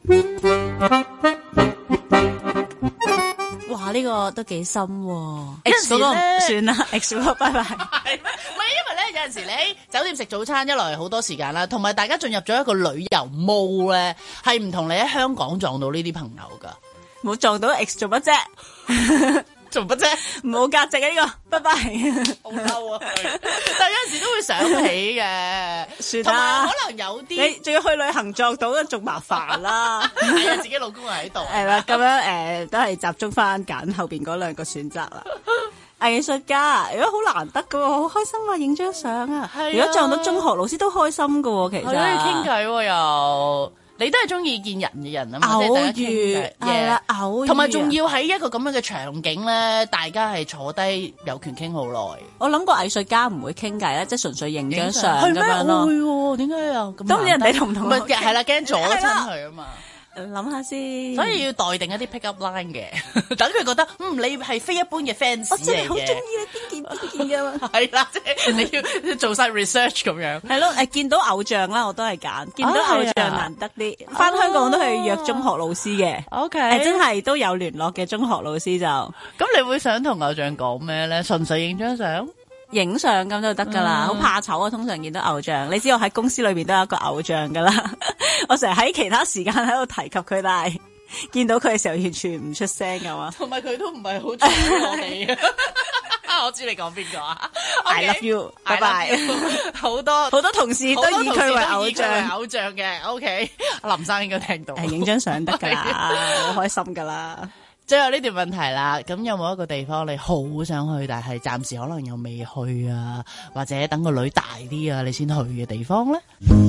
哇！呢、這個都幾深喎。 X 嗰個算啦 ，X 嗰個拜拜。 係咩？唔係因為咧，有陣時你喺酒店食早餐，一來好多時間啦，同埋大家進入咗一個旅遊 mode 咧，係唔同你喺香港撞到呢啲朋友噶。 冇撞到 X 做乜啫？ 做乜啫？ 冇價值啊！呢、這個，拜拜。 好嬲啊！但係有陣時都會想起嘅， 算啦。 可能有啲你仲要去旅行撞到，仲麻煩啦。 係啊，自己老公喺度。 係啦，咁樣誒、呃，都係集中翻揀後邊嗰兩個選擇啦。藝術家如果好難得噶，好開心啊！影張相啊！如果撞到中學老師都開心噶，其實。係啊， 傾偈又。你都係中意見人嘅人啊嘛， 偶遇係啦，偶遇， 同埋仲要喺一個咁樣嘅場景咧，大家係坐低有權傾好耐。 我諗個藝術家唔會傾偈咧，即係純粹影張相咁樣咯。 會喎，點解又咁？ 當然人哋同唔同我係啦，驚阻親佢啊嘛。 諗下先， 所以要待定一啲 pick up line 嘅，等佢覺得嗯你係非一般嘅 fans 我真係好中意你邊件邊件㗎嘛。 係啦，即係你要做晒 research 咁樣。 係咯，誒見到偶像啦，我都係揀見到偶像難得啲。翻、啊、香港都係約中學老師嘅、啊、，OK，誒真係都有聯絡嘅中學老師就。咁你會想同偶像講咩咧？純粹影張相？ 影相咁就得噶啦，好、嗯、怕醜啊！通常見到偶像，你知我喺公司裏邊都有一個偶像噶啦。我成日喺其他時間喺度提及佢，但係見到佢嘅時候完全唔出聲噶嘛。同埋佢都唔係好中意我哋。我知你講邊個啊 ？I love you，拜拜。好多好多同事都以佢為偶像，偶像嘅。OK， 林生應該聽到。誒，影張相得噶啦，好開心噶啦。最後呢條問題啦，咁有冇一個地方你好想去，但係暫時可能又未去啊，或者等個女大啲啊，你先去嘅地方咧？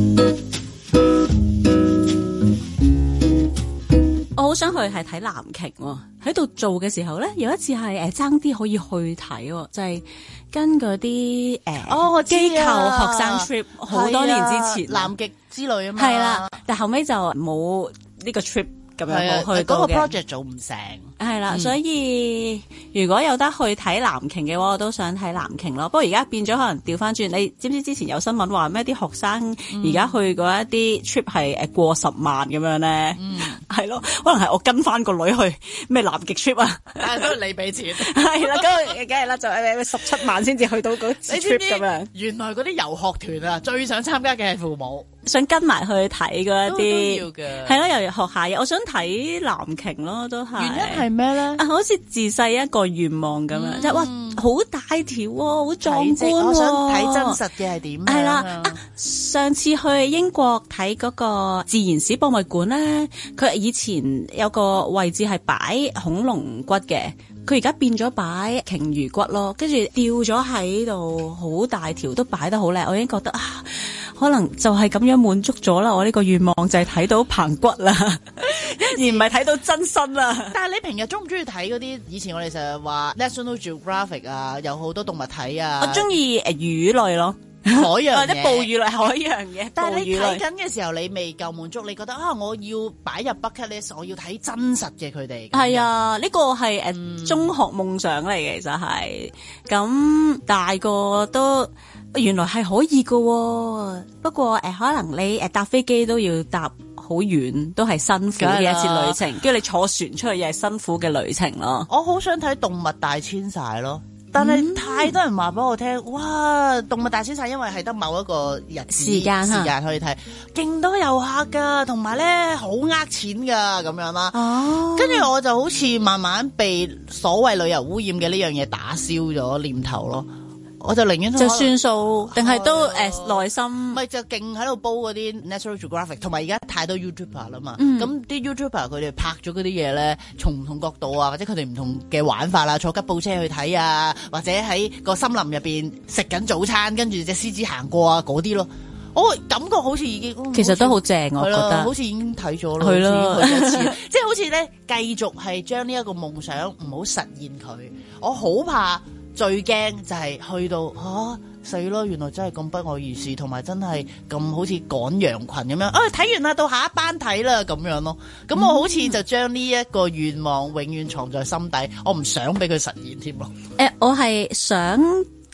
我好想去係睇藍鯨喎，喺度做嘅時候咧，有一次係誒爭啲可以去睇，就係、是、跟嗰啲誒哦機構學生 trip 好、啊、多年之前南極之類啊嘛，係啦，但後尾就冇呢個 trip 咁樣冇去到嘅，嗰個 project 做唔成。係啦、嗯，所以如果有得去睇藍鯨嘅話，我都想睇藍鯨咯。不過而家變咗可能調翻轉，你知唔知之前有新聞話咩啲學生而家去嗰一啲 trip 係誒過十萬咁樣咧？嗯，係咯，可能係我跟翻個女去咩南極 trip 啊，但係都係你俾錢。係啦，咁梗係啦，就係十七萬先至去到嗰次 trip 咁樣。原來嗰啲遊學團啊，最想參加嘅係父母，想跟埋去睇嗰一啲，都要嘅。係咯，又學下嘢。我想睇藍鯨咯，都係。原因係咩咧？啊，好似自細一個願望咁樣，即、嗯、係哇，好大條喎，好壯觀喎。我想睇真實嘅係點？係啦，啊，上次去英國睇嗰個自然史博物館咧，佢以前有個位置係擺恐龍骨嘅，佢而家變咗擺鯨魚骨咯，跟住吊咗喺度，好大條，都擺得好靚。我已經覺得啊，可能就係咁樣滿足咗啦。我呢個願望就係睇到棚骨啦，而唔係睇到真身啦。但係你平日中唔中意睇嗰啲？以前我哋成日話 National Geographic 啊，有好多動物睇啊。我中意誒魚類咯，海洋或者哺乳類，海洋嘅。但係你睇緊嘅時候，你未夠滿足，你覺得啊，我要擺入 bucket list，我要睇真實嘅佢哋。係啊，呢、這個係誒、嗯、中學夢想嚟嘅，其實係咁大個都。原來係可以㗎喎，不過誒、呃、可能你誒搭飛機都要搭好遠，都係辛苦嘅一次旅程。跟住你坐船出去又係辛苦嘅旅程咯。我好想睇動物大遷徙咯，但係太多人話俾我聽、嗯，哇！動物大遷徙因為係得某一個日子時間時間可以睇，勁多遊客噶，同埋咧好呃錢噶咁樣啦。哦，跟住我就好似慢慢被所謂旅遊污染嘅呢樣嘢打消咗念頭咯。我就寧願就算數，定係都誒內心，咪就勁喺度煲嗰啲 National Geographic， 同埋而家太多 YouTuber 啦嘛。咁、嗯、啲 YouTuber 佢哋拍咗嗰啲嘢咧，從唔同角度啊，或者佢哋唔同嘅玩法啦，坐吉普車去睇啊，或者喺個森林入邊食緊早餐，跟住隻獅子行過啊嗰啲咯。我感覺好似已經，嗯、其實都好正，我覺得好似已經睇咗咯，係咯，去一次，即係好似咧繼續係將呢一個夢想唔好實現佢。我好怕。最驚就係去到嚇死咯！原來真係咁不外如是，同埋真係咁好似趕羊群咁樣。啊，睇完啦，到下一班睇啦咁樣咯。咁我好似就將呢一個願望永遠藏在心底，我唔想俾佢實現添咯。誒、呃，我係想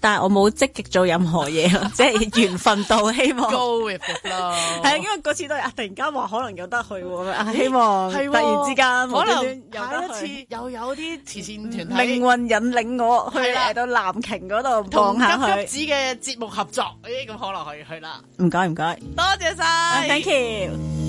但係我冇積極做任何嘢咯，即係緣分到，希望 go with it 咯。 係啊，因為嗰次都係啊，突然間話可能有得去喎，啊，希望突然之間可能下一次又有啲慈善團體命運引領我去嚟到藍鯨嗰度望下佢。 同急急子嘅節目合作，誒咁可能可以去啦。 唔該唔該， 多謝晒 ，thank you。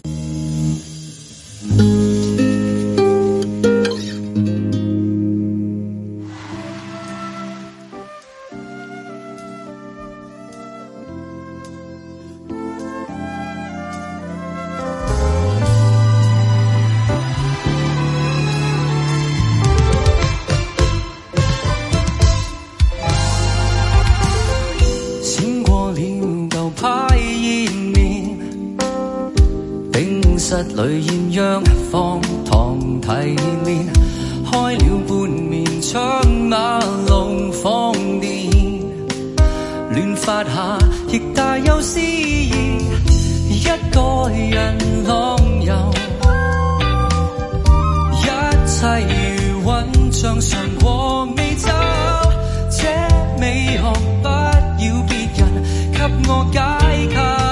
裏豔陽放堂提煉，開了半面窗馬龍放電，亂發下亦大有詩意，一個人浪遊，一切如雲像常過美洲，這美學不要別人給我解構。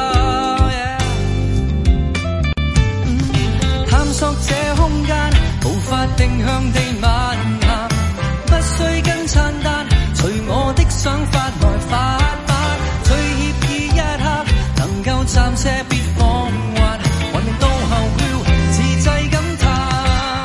探索這空間，無法定向地漫行，不需跟餐單，隨我的想法來發發。最愜意一刻，能夠暫且別放還，還未到後了，自製感嘆。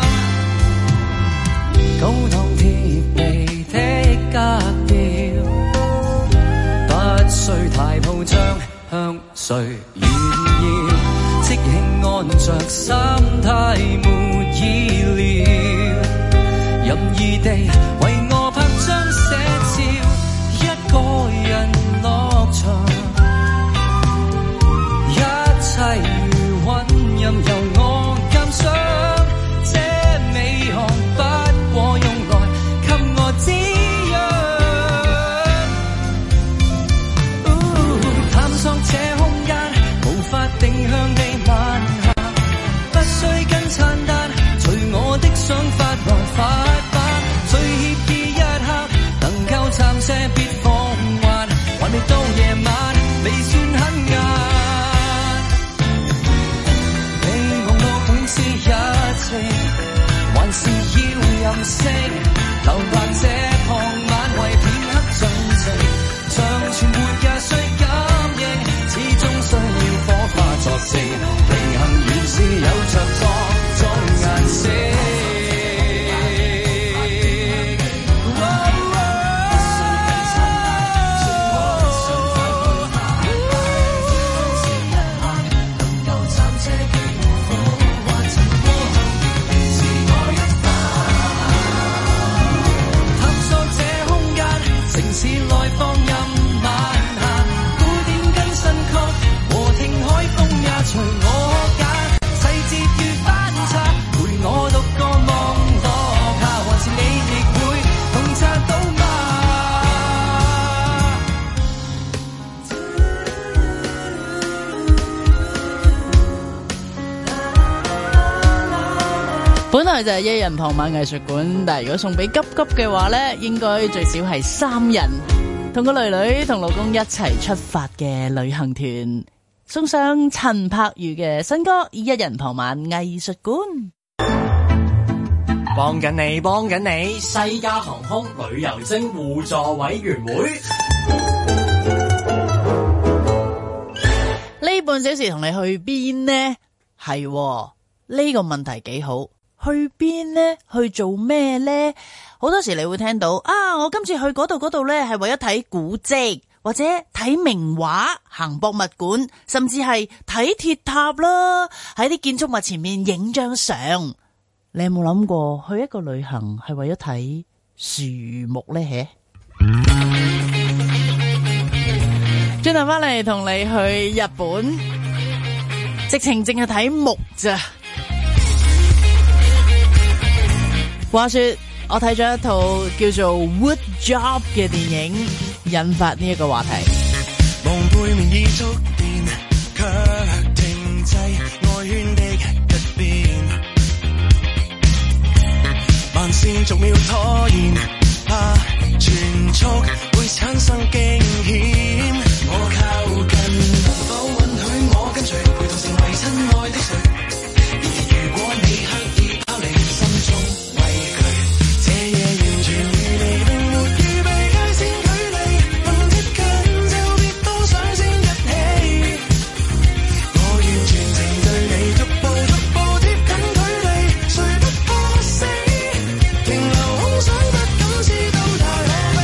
高檔貼地的格調，不需太鋪張，向誰炫耀？即興按着心態沒意料，任意地為我拍張寫照，一個人落場，一切如雲任由我鑑賞，這美學不過用來給我滋養，探索這空間，無法定向地想法來發發，最愜意一刻，能夠暫且別放還，還未到夜晚，未算很晏。你望我本是一情，還是要任性，留白這傍晚為片刻盡情，像存活也需感應，始終需要火花作證，平衡原是有着各種顏色。 本來就係一人傍晚藝術館，但係如果送俾急急嘅話呢，應該最少係三人，同個女女同老公一齊出發嘅旅行團，送上陳柏宇嘅新歌《一人傍晚藝術館》。 幫緊你，幫緊你，西加航空旅遊精互助委員會。 呢半小時同你去邊呢？係呢個問題幾好。去邊呢？去做咩呢？好多時你會聽到啊，我今次去嗰度嗰度呢係為咗睇古蹟，或者睇名畫、行博物館，甚至係睇鐵塔啦，喺啲建築物前面影張相。你有冇諗過去一個旅行係為咗睇樹木呢？轉頭翻嚟同你去日本，直情淨係睇木咋。話說我睇咗一套叫做 Wood Job 嘅電影，引發呢一個話題。 望背面已觸電，卻停滯外圈的一邊，慢線逐秒拖延，怕全速會產生驚險。我靠近，能否允許我跟隨，陪同成為親愛的誰？然而如果你刻意拋離，心中畏懼，這夜完全與你並沒預備界線距離，能接近就別多想先一起。我願全程對你逐步逐步貼近距離，誰不怕死？停留空想不敢知道太可悲。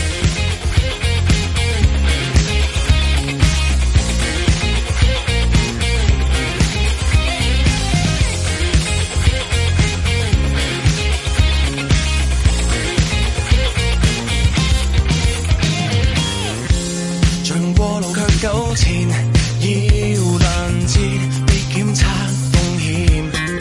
像過路卻糾纏，要攔截別檢測風險。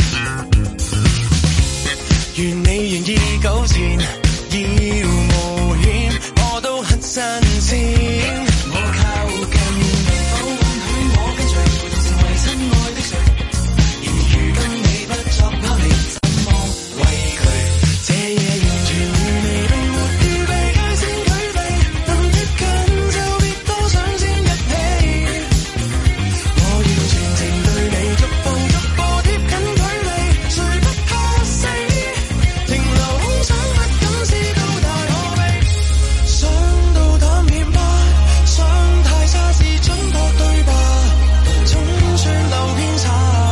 願你願意糾纏，要冒險，我都很新鮮。我靠近，能否允許我跟隨，陪同成為親愛的誰？然而如今你不作拋離，怎麼畏懼？這夜完全與你並沒預備界線距離，能貼近就別多想先一起。我願全程對你逐步逐步貼近距離，誰不怕死？停留空想不敢知道太可悲。想到淡甜吧，想太差是準確對吧？總算留偏差。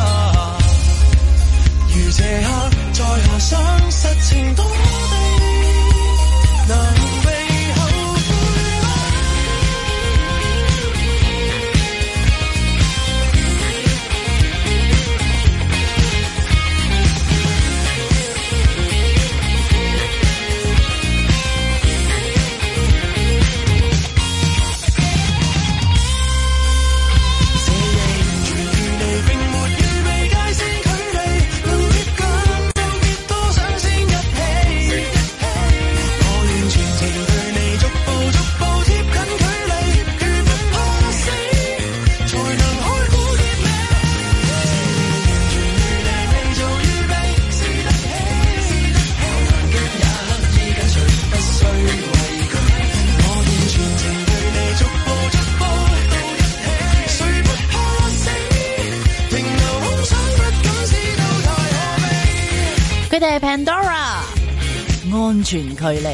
如這刻在河上，實情多地能被後悔嗎？這夜完全與你並沒預備界線距離，能貼近就別多想先一起。我願全程對你逐步逐步貼近距離，絕不怕死，才能開苦結尾。這夜完全與你未做預備，試得起，我難極也刻意跟隨，不需畏懼。我願全程對你逐步逐步到一起，誰不怕死？停留空想不敢知道太可悲。 佢哋係 Pandora 安全距離。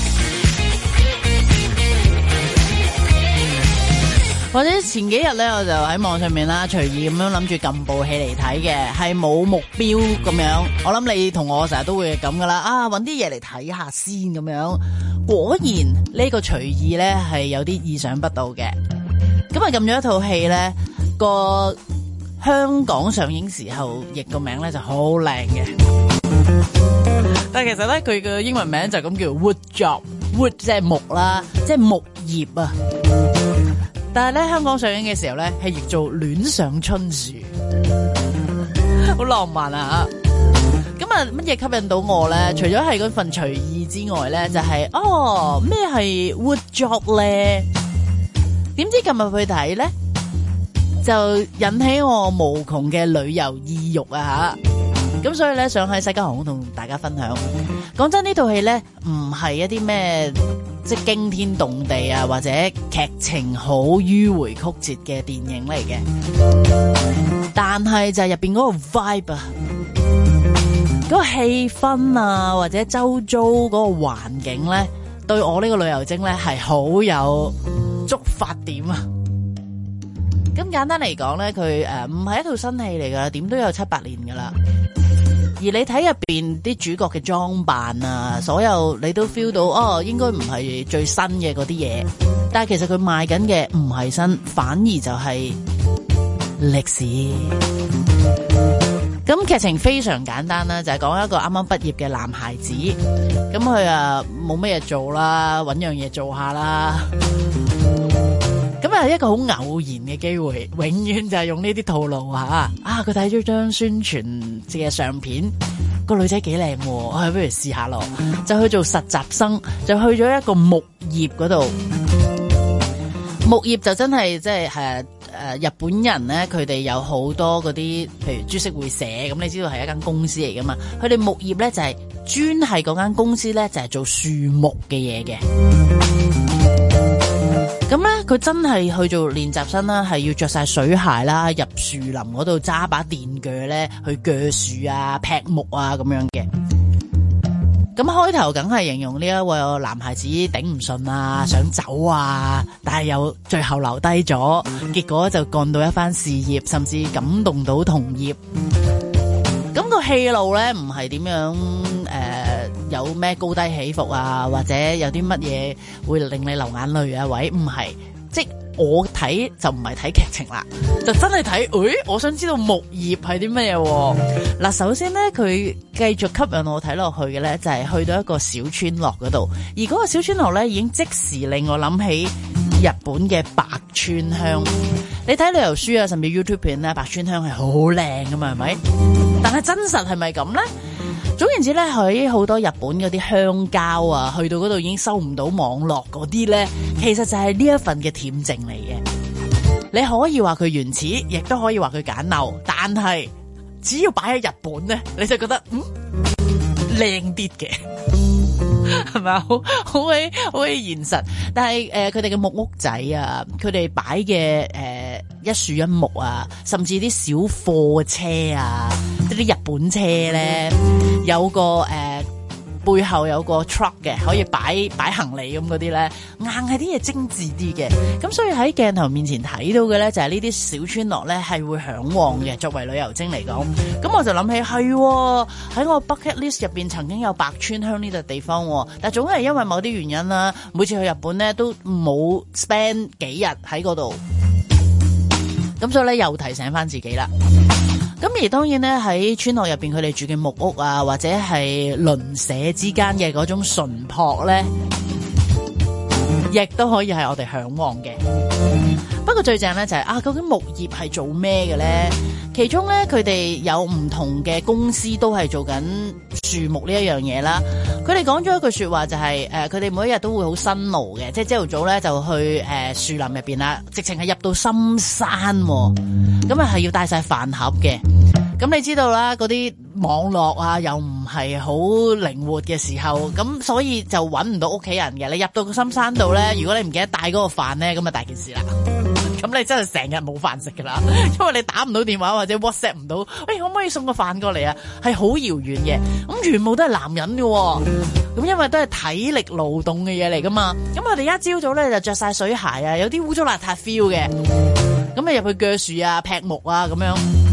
或者前幾日咧，我就喺網上面啦，隨意咁樣諗住撳部戲嚟睇嘅，係冇目標咁樣。我諗你同我成日都會咁噶啦，啊，搵啲嘢嚟睇下先咁樣。果然呢個隨意咧係有啲意想不到嘅。咁啊撳咗一套戲咧，個香港上映時候譯個名咧就好靚嘅。但係其實咧，佢嘅英文名就咁叫 Wood Job，Wood 即係木啦，即係木業啊。但係咧，香港上映嘅時候咧，係譯做戀上春樹，好浪漫啊！咁啊，乜嘢吸引到我咧？除咗係嗰份隨意之外咧，就係、是、哦咩係 Wood Job 咧？點知今日去睇咧，就引起我無窮嘅旅遊意欲啊！吓！咁所以咧，想喺西加航空同大家分享。講真，呢套戲咧唔係一啲咩即係驚天動地啊，或者劇情好迂迴曲折嘅電影嚟嘅。但係就係入邊嗰個 vibe 啊，嗰個氣氛啊，或者周遭嗰個環境咧，對我呢個旅遊精咧係好有觸發點啊。咁簡單嚟講咧，佢誒唔係一套新戲嚟噶，點都有七八年噶啦。而你睇入邊啲主角嘅裝扮啊，所有你都 feel 到哦，應該唔係最新嘅嗰啲嘢，但係其實佢賣緊嘅唔係新，反而就係歷史。咁劇情非常簡單啦，就係講一個啱啱畢業嘅男孩子，咁佢啊冇乜嘢做啦，搵樣嘢做下啦。咁啊，一個好偶然嘅機會，永遠就係用呢啲套路吓啊！佢睇咗張宣傳嘅相片，個女仔幾靚喎，啊，不如試下咯，就去做實習生，就去咗一個木業嗰度。木業就真係即係誒誒，日本人咧，佢哋有好多嗰啲，譬如株式會社，咁你知道係一間公司嚟噶嘛？佢哋木業咧就係專係嗰間公司咧就係做樹木嘅嘢嘅。咁咧佢真係去做練習生啦，係要着晒水鞋啦，入樹林嗰度揸把電鋸咧去鋸樹啊、劈木啊咁樣嘅。咁開頭梗係形容呢一位男孩子頂唔順啊，想走啊，但係又最後留低咗，結果就幹到一番事業，甚至感動到同業。咁個戲路咧唔係點樣誒、呃，有咩高低起伏啊，或者有啲乜嘢會令你流眼淚啊？喂，唔係，即我睇就唔係睇劇情啦，就真係睇，誒，我想知道木葉係啲乜嘢。嗱，首先咧，佢繼續吸引我睇落去嘅咧，就係去到一個小村落嗰度，而嗰個小村落咧，已經即時令我諗起日本嘅白川鄉。你睇旅遊書啊，甚至 YouTube 片咧，白川鄉係好靚噶嘛，係咪？但係真實係咪咁咧？總言之咧，喺好多日本嗰啲鄉郊啊，去到嗰度已經收唔到網絡嗰啲咧，其實就係呢一份嘅恬靜嚟嘅。你可以話佢原始，亦都可以話佢簡陋，但係只要擺喺日本咧，你就覺得嗯靚啲嘅，係咪啊？好好鬼好鬼現實。但係誒，佢哋嘅木屋仔啊，佢哋擺嘅誒一樹一木啊，甚至啲小貨車啊，即係啲日本車咧，有個誒、呃、背後有個 truck 嘅，可以擺擺行李咁嗰啲咧，硬係啲嘢精緻啲嘅。咁所以喺鏡頭面前睇到嘅咧，就係呢啲小村落咧係會向往嘅。作為旅遊精嚟講，咁我就諗起係喺我 bucket list 入邊曾經有白川鄉呢笪地方，但係總係因為某啲原因啦，每次去日本咧都冇 spend 幾日喺嗰度，咁所以咧又提醒翻自己啦。咁而當然咧喺村落入邊，佢哋住嘅木屋啊，或者係鄰舍之間嘅嗰種淳樸咧，亦都可以係我哋向往嘅。不過最正咧就係、是、啊，究竟木業係做咩嘅咧？其中咧佢哋有唔同嘅公司都係做緊樹木呢一樣嘢啦。佢哋講咗一句說話就係、是、誒，佢、呃、哋每一日都會好辛勞嘅，即係朝頭早咧就去誒樹、呃、林入邊啦，直情係入到深山、啊，咁啊係要帶晒飯盒嘅。咁你知道啦，嗰啲網絡啊又唔係好靈活嘅時候，咁所以就搵唔到屋企人嘅。你入到個深山度咧，如果你唔記得帶嗰個飯咧，咁啊大件事啦。咁你真係成日冇飯食噶啦，因為你打唔到電話或者 WhatsApp 唔到，喂，可唔可以送個飯過嚟啊？係好遙遠嘅，咁全部都係男人嘅，咁因為都係體力勞動嘅嘢嚟噶嘛。咁我哋一朝早咧就着晒水鞋啊，有啲污糟邋遢 feel 嘅，咁啊入去鋸樹啊、劈木啊咁樣，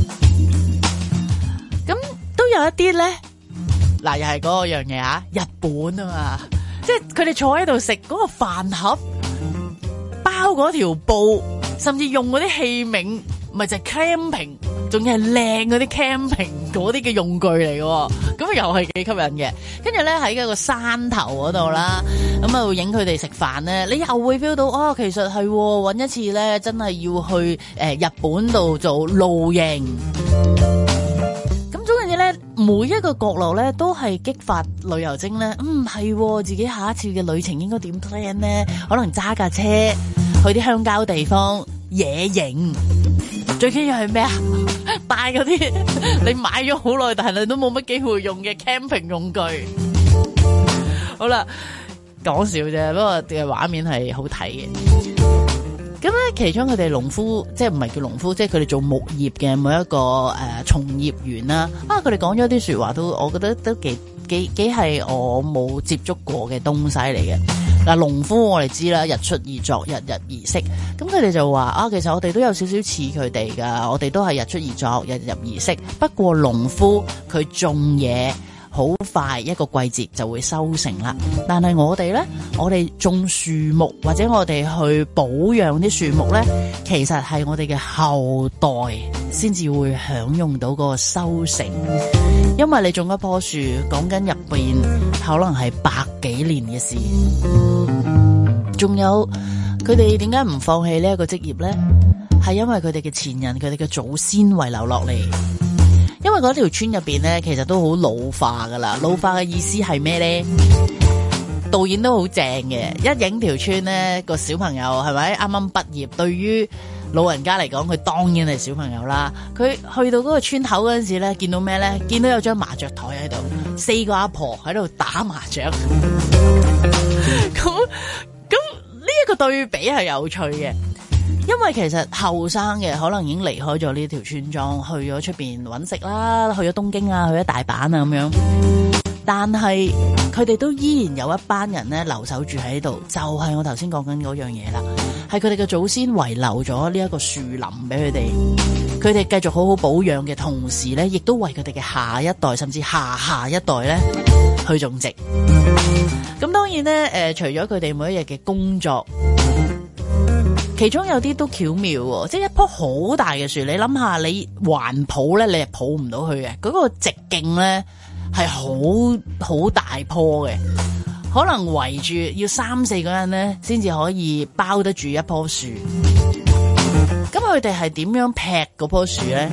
咁都有一啲咧，嗱又係嗰個樣嘢啊，日本啊嘛，即係佢哋坐喺度食嗰個飯盒，包嗰條布。甚至用嗰啲器皿，咪就係 camping，仲要係靚嗰啲 camping 嗰啲嘅用具嚟嘅，咁又係幾吸引嘅。跟住咧喺一個山頭嗰度啦，咁啊會影佢哋食飯咧，你又會 feel 到哦，其實係搵一次咧，真係要去誒、呃、日本度做露營。咁總言之咧，每一個角落咧都係激發旅遊精咧，嗯係自己下一次嘅旅程應該點 plan 咧？可能揸架車去啲鄉郊地方野營，最緊要係咩啊？帶嗰啲你買咗好耐，但係你都冇乜機會用嘅 camping 用具。好啦，講笑啫，不過嘅畫面係好睇嘅。咁咧，其中佢哋農夫，即係唔係叫農夫，即係佢哋做木業嘅每一個誒、呃、從業員啦。啊，佢哋講咗啲說話都，我覺得都幾幾幾係我冇接觸過嘅東西嚟嘅。嗱，農夫我哋知啦，日出而作，日日而息。咁佢哋就話啊，其實我哋都有少少似佢哋噶，我哋都係日出而作，日日而息。不過農夫佢種嘢好快，一個季節就會收成啦。但係我哋咧，我哋種樹木或者我哋去保養啲樹木咧，其實係我哋嘅後代先至會享用到個收成。因為你種一棵樹，講緊入邊可能係百幾年嘅事。仲有佢哋點解唔放棄呢一個職業咧？係因為佢哋嘅前人，佢哋嘅祖先遺留落嚟。因為嗰條村入邊咧，其實都好老化噶啦。老化嘅意思係咩咧？導演都好正嘅，一影條村咧，個小朋友係咪啱啱畢業，對於老人家嚟講，佢當然係小朋友啦。佢去到嗰個村口嗰陣時咧，見到咩咧？見到有張麻雀台喺度，四個阿婆喺度打麻雀。咁咁呢一個對比係有趣嘅。因為其實後生嘅可能已經離開咗呢條村莊，去咗出邊揾食啦，去咗東京啊，去咗大阪啊咁樣。但係佢哋都依然有一班人咧留守住喺度，就係、是、我頭先講緊嗰樣嘢啦。係佢哋嘅祖先遺留咗呢一個樹林俾佢哋，佢哋繼續好好保養嘅同時咧，亦都為佢哋嘅下一代甚至下下一代咧去種植。咁當然咧，誒、呃，除咗佢哋每一日嘅工作。其中有啲都巧妙喎，即係一棵好大嘅樹，你諗下，你環抱咧，你係抱唔到佢嘅，嗰個直徑咧係好好大棵嘅，可能圍住要三四個人咧，先至可以包得住一棵樹。咁佢哋係點樣劈嗰棵樹咧？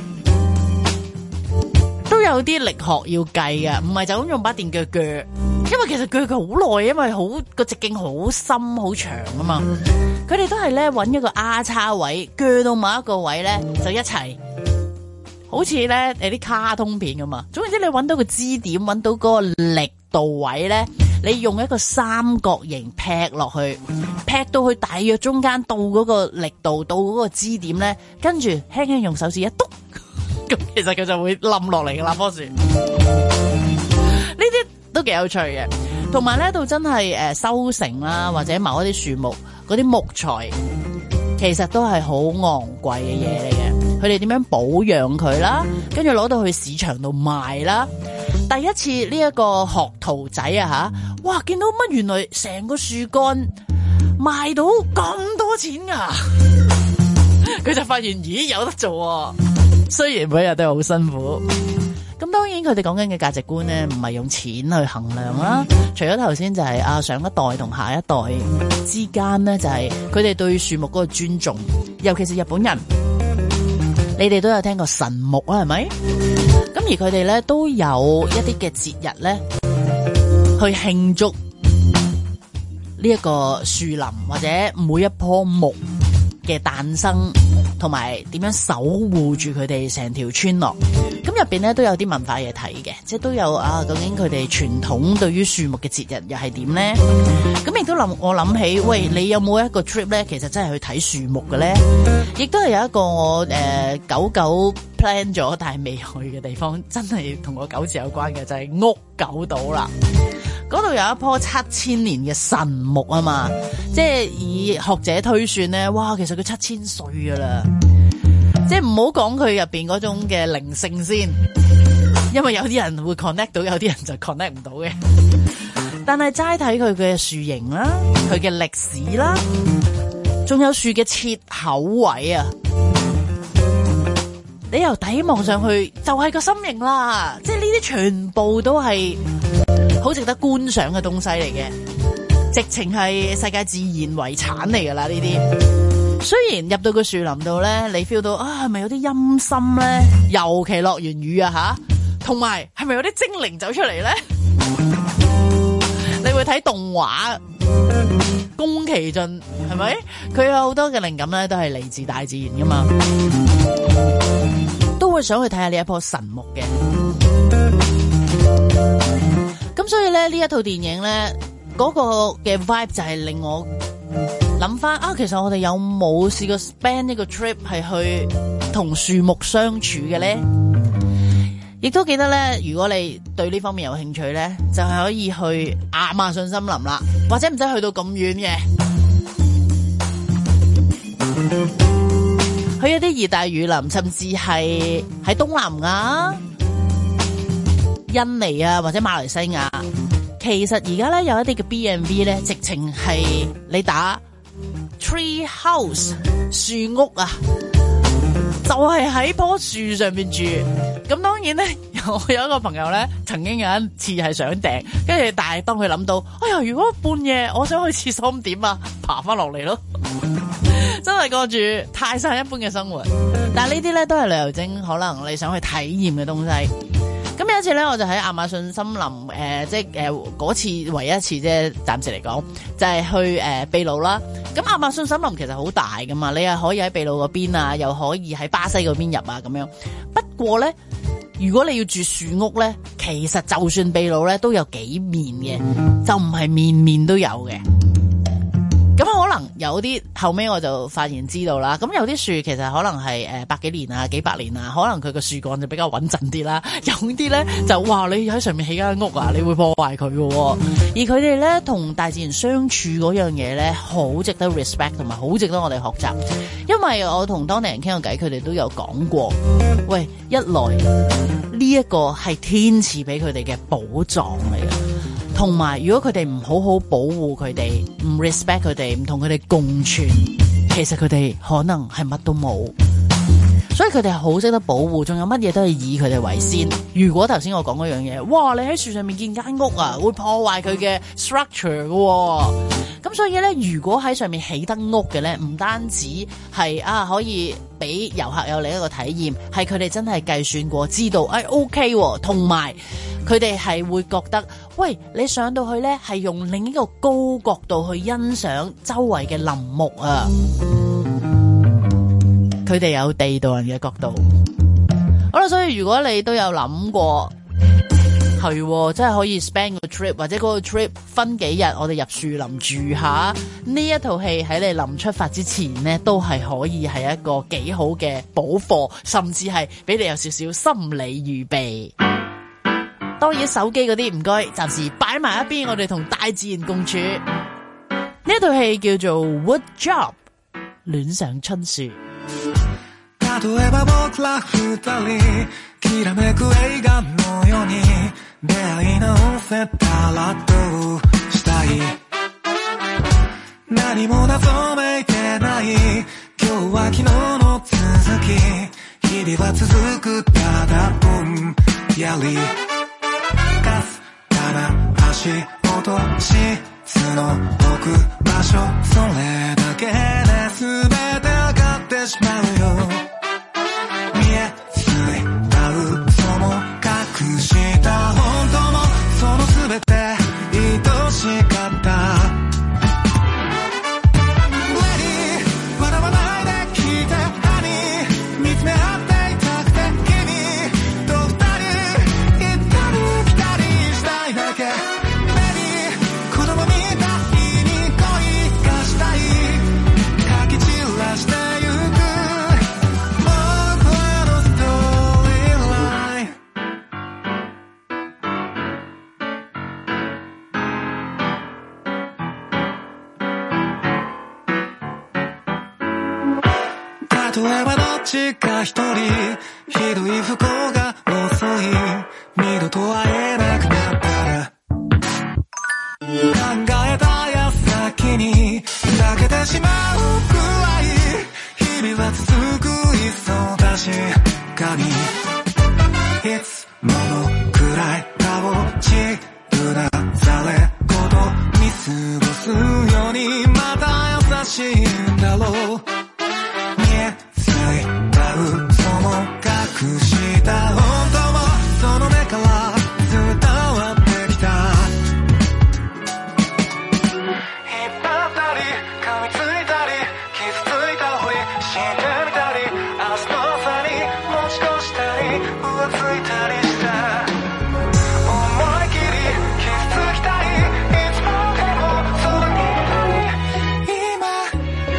都有啲力學要計嘅，唔係就咁用把電鋸鋸，因為其實鋸佢好耐，因為好個直徑好深好長啊嘛。佢哋都係咧揾一個丫叉位，鋸到某一個位咧就一齊，好似咧誒啲卡通片咁嘛。總之你揾到個支點，揾到嗰個力度位咧，你用一個三角形劈落去，劈到去大約中間到嗰個力度，到嗰個支點咧，跟住輕輕用手指一篤，咁其實佢就會冧落嚟嘅啦棵樹。呢啲都幾有趣嘅。同埋咧，到真係誒收成啦，或者某一啲樹木嗰啲木材，其實都係好昂貴嘅嘢嚟嘅。佢哋點樣保養佢啦，跟住攞到去市場度賣啦。第一次呢一個學徒仔啊吓，哇！見到乜原來成個樹幹賣到咁多錢啊！佢就發現咦有得做啊，雖然每日都係好辛苦。咁當然佢哋講緊嘅價值觀咧，唔係用錢去衡量啦。除咗頭先就係啊上一代同下一代之間咧，就係佢哋對樹木嗰個尊重，尤其是日本人。你哋都有聽過神木啊，係咪？咁而佢哋咧都有一啲嘅節日咧，去慶祝呢一個樹林或者每一棵木嘅誕生，同埋點樣守護住佢哋成條村落。咁入邊咧都有啲文化嘢睇嘅，即係都有啊。究竟佢哋傳統對於樹木嘅節日又係點咧？咁亦都諗我諗起，喂，你有冇一個 trip 咧？其實真係去睇樹木嘅咧？亦都係有一個我誒久久 plan 咗但係未去嘅地方，真係同個九字有關嘅，就係屋久島啦。嗰度有一棵七千年嘅神木啊嘛，即係以學者推算咧，哇，其實佢七千歲噶啦。即係唔好講佢入邊嗰種嘅靈性先，因為有啲人會 connect 到，有啲人就 connect 唔到嘅。但係齋睇佢嘅樹形啦，佢嘅歷史啦，仲有樹嘅切口位啊，你由底望上去就係個心形啦。即係呢啲全部都係好值得觀賞嘅東西嚟嘅，直情係世界自然遺產嚟噶啦呢啲。雖然入到個樹林度咧，你 feel 到啊，係咪有啲陰森咧？尤其落完雨啊吓，同埋係咪有啲精靈走出嚟咧？你會睇動畫，宮崎駿係咪？佢有好多嘅靈感咧，都係嚟自大自然噶嘛，都會想去睇下呢一棵神木嘅。咁所以咧，呢一套電影咧，嗰個嘅 vibe 就係令我諗翻啊，其實我哋有冇試過 spend 一個 trip 係去同樹木相處嘅咧？亦都記得咧，如果你對呢方面有興趣咧，就係可以去亞馬遜森林啦，或者唔使去到咁遠嘅，去一啲熱帶雨林，甚至係喺東南亞、印尼啊或者馬來西亞。其實而家咧有一啲嘅 B and B 咧，直情係你打 tree house 樹屋啊，就係喺棵樹上面住。咁當然咧，我有一個朋友咧，曾經有一次係想訂，跟住但係當佢諗到，哎呀，如果半夜我想去廁所咁點啊，爬翻落嚟咯，真係過住泰山一般嘅生活。但係呢啲咧都係旅遊精，可能你想去體驗嘅東西。咁有一次咧，我就喺亞馬遜森林誒、呃，即係誒嗰次唯一一次啫，暫時嚟講就係、是、去誒、呃、秘魯啦。咁亞馬遜森林其實好大噶嘛，你係可以喺秘魯嗰邊啊，又可以喺巴西嗰邊入啊咁樣。不過咧，如果你要住樹屋咧，其實就算秘魯咧都有幾面嘅，就唔係面面都有嘅。咁可能有啲後尾我就發現知道啦，咁有啲樹其實可能係誒百幾年啊幾百年啊，可能佢個樹幹就比較穩陣啲啦，有啲咧就哇你喺上面起間屋啊，你會破壞佢嘅。而佢哋咧同大自然相處嗰樣嘢咧，好值得 respect 同埋好值得我哋學習。因為我同當地人傾過偈，佢哋都有講過，喂，一來呢一個係天賜俾佢哋嘅寶藏嚟嘅。同埋，如果佢哋唔好好保護佢哋，唔 respect 佢哋，唔同佢哋共存，其實佢哋可能係乜都冇。所以佢哋係好識得保護，仲有乜嘢都係以佢哋為先。如果頭先我講嗰樣嘢，哇！你喺樹上面建間屋啊，會破壞佢嘅 structure 嘅。咁所以咧，如果喺上面起得屋嘅咧，唔單止係啊可以俾遊客有另一個體驗，係佢哋真係計算過，知道誒 OK，同埋佢哋係會覺得，喂，你上到去咧係用另一個高角度去欣賞周圍嘅林木啊。佢哋有地道人嘅角度，好啦，所以如果你都有諗過，係真係可以 spend 個 trip， 或者嗰個 trip 分幾日，我哋入樹林住下，呢一套戲喺你臨出發之前呢，都係可以係一個幾好嘅補課，甚至係俾你有少少心理預備。當然手機嗰啲唔該，暫時擺埋一邊，我哋同大自然共處。呢一套戲叫做 Wood Job， 戀上春樹。 例えば僕ら二人きらめく映画のように出会い直せたらどうしたい何も謎めいてない今日は昨日の続き日々は続くただぼんやりかすかな足音質の置く場所それだけで全てわかってしまうよ隠した本当もその全て愛しかった Lady 笑わないで聞いて Honey 見つめ合っていたくて君と二人行ったり来たりしたいだけ Baby 子供みたいに恋がしたいかき散らしてゆく例えばどっちか一人ひどい不幸が遅い二度と会えなくなったら考えた矢先に泣けてしまうくらい日々は続くいっそ確かにいつものくらい顔ちるなされこと見過ごすようにまた優しいんだろう隠した本当もその目から伝わってきた引っ張ったり噛みついたり傷ついたふりしてみたり明日の朝に持ち越したり浮ついたりした思い切り傷つきたいいつまでもそばにいたい今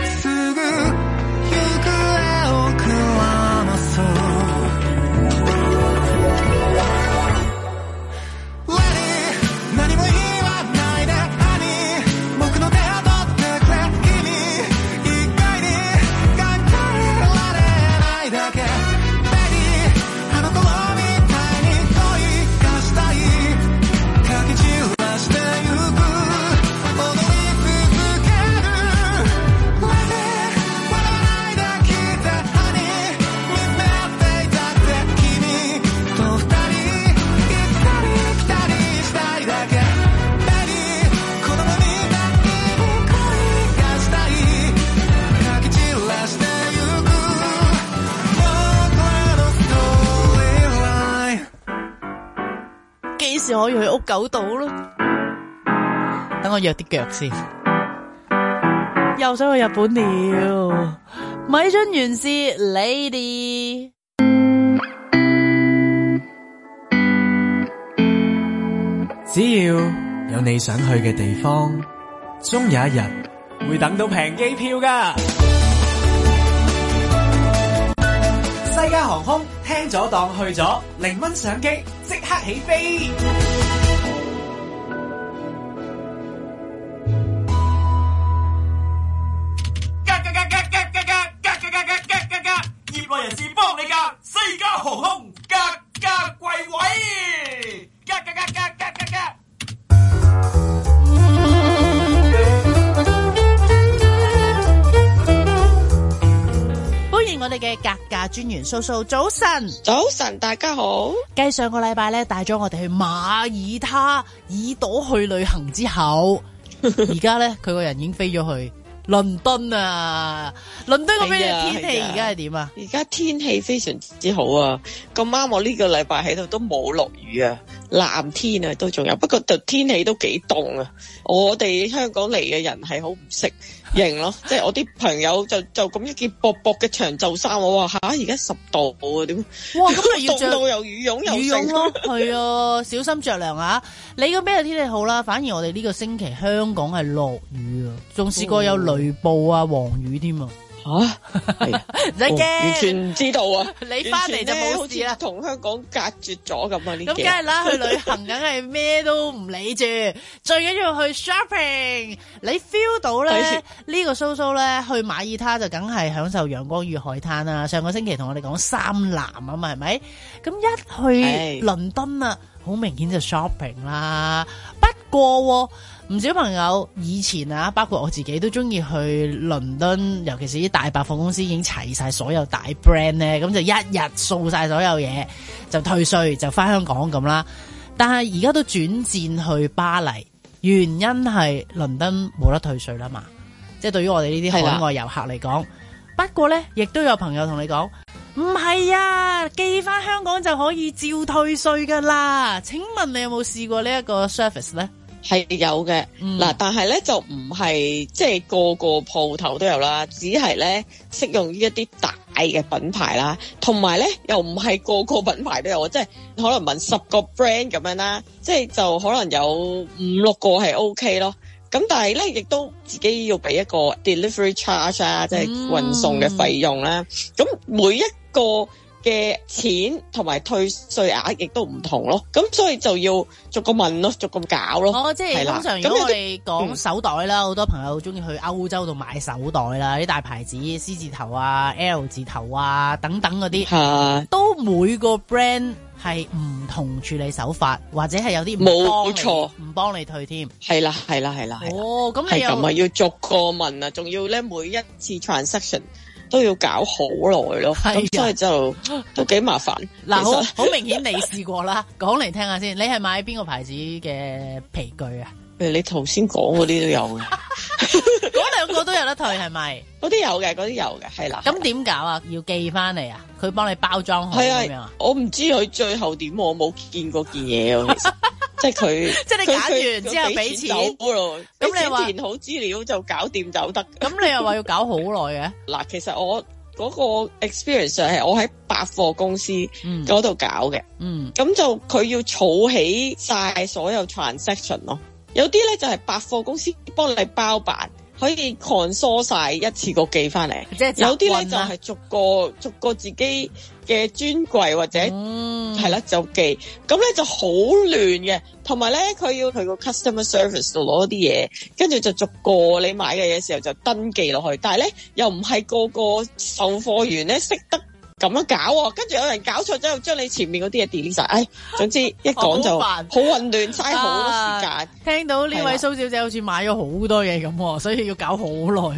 時可以去屋久島咯？等我約啲腳先。又想去日本了，米津玄師 Lady。 只要有你想去嘅地方，終有一日會等到平機票㗎。西加航空聽咗當去咗，零蚊上機即刻起飛。業內人士幫你㗎，西加航空格價貴位，格格格格格格格。 歡迎我哋嘅格價專員蘇蘇，早晨， 早晨，大家好。 繼上個禮拜咧帶咗我哋去馬耳他耳朵去旅行之後，而家咧佢個人已經飛咗去倫敦啊！倫敦嗰邊嘅天氣而家係點啊？ 而家天氣非常之好啊！咁啱我呢個禮拜喺度都冇落雨啊，藍天啊都仲有，不過就天氣都幾凍啊！我哋香港嚟嘅人係好唔適應咯，即係我啲朋友就就咁一件薄薄嘅長袖衫，我話吓而家十度啊，點？ 哇！咁咪要着凍到又羽絨又羽絨咯，係啊，小心着涼啊！你嗰邊嘅天氣好啦，反而我哋呢個星期香港係落雨啊，仲試過有雷暴啊、黃雨添啊！ 吓，唔使驚， 完全唔知道啊！ 你翻嚟就冇事啦， 同香港隔絕咗咁啊！呢咁梗係啦，去旅行梗係咩都唔理住，最緊要去 shopping。你 feel 到咧呢個蘇蘇咧去馬耳他就梗係享受陽光與海灘啦。上個星期同我哋講三藍啊嘛，係咪？咁一去倫敦啊，好明顯就 shopping 啦。不過唔少朋友以前啊，包括我自己都中意去倫敦，尤其是啲大百貨公司已經齊晒所有大 brand 咧，咁就一日掃晒所有嘢，就退稅就翻香港咁啦。但係而家都轉戰去巴黎，原因係倫敦冇得退稅啦嘛，即係對於我哋呢啲海外遊客嚟講。不過咧，亦都有朋友同你講，唔係啊，寄翻香港就可以照退稅噶啦。請問你有冇試過呢一個 service 咧？ 係有嘅，嗱、嗯，但係咧就唔係即係個個鋪頭都有啦，只係咧適用於一啲大嘅品牌啦，同埋咧又唔係個個品牌都有，即係可能問十個 brand 咁樣啦，即係就可能有五六個係 OK 咯。咁但係咧亦都自己要俾一個 delivery charge 啊，即係運送嘅費用啦。咁、嗯、每一個嘅錢同埋退稅額亦都唔同咯，咁所以就要逐個問咯，逐個搞咯。 哦，即係通常如果我哋講手袋啦，好、嗯、多朋友中意去歐洲度買手袋啦，啲大牌子 C 字頭啊、L 字頭啊等等嗰啲， 啊， 都每個 brand 係唔同處理手法，或者係有啲唔幫你，冇錯，唔幫你退添。 係啦，係啦，係啦。 哦，咁你又係咁啊？ 要逐個問啊，仲要咧每一次 transaction。都要搞好耐咯，咁所以就都幾麻煩。 嗱，好好明顯你試過啦，講嚟聽下先。你係買邊個牌子嘅皮具啊？ 誒，你頭先講嗰啲都有嘅， 嗰兩個都有得退係咪？ 嗰啲有嘅，嗰啲有嘅，係啦。 咁點搞啊？要寄翻嚟啊？佢幫你包裝好咁樣啊？ 我唔知佢最後點，我冇見過件嘢啊。其實即係佢，即係你揀完之後俾錢走咯。咁你話填好資料就搞掂就得。 咁你又話要搞好耐嘅？ 嗱，其實我嗰個 experience 係我喺百貨公司嗰度搞嘅。嗯，咁就佢要儲起晒所有 transaction 咯。有啲咧就係百貨公司幫你包辦，可以 console 晒一次過寄翻嚟。即係有啲咧就係逐個逐個自己嘅專櫃或者係啦、嗯、就寄，咁咧就好亂嘅。同埋咧佢要去個 customer service 度攞啲嘢，跟住就逐個你買嘅嘢時候就登記落去。但係咧又唔係個個售貨員咧識得咁樣搞，跟住有人搞錯之後將你前面嗰啲嘢 delete 晒，唉，總之一講就好混亂，嘥好多時間、啊。聽到呢位蘇小姐好似買咗好多嘢咁，所以要搞好耐。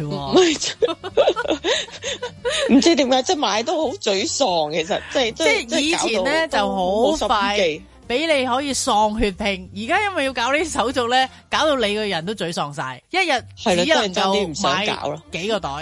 唔知點解即係買都好沮喪，其實即係即係以前咧就好快俾你可以喪血拼，而家因為要搞呢啲手續咧，搞到你個人都沮喪晒，一日只能夠買幾個袋。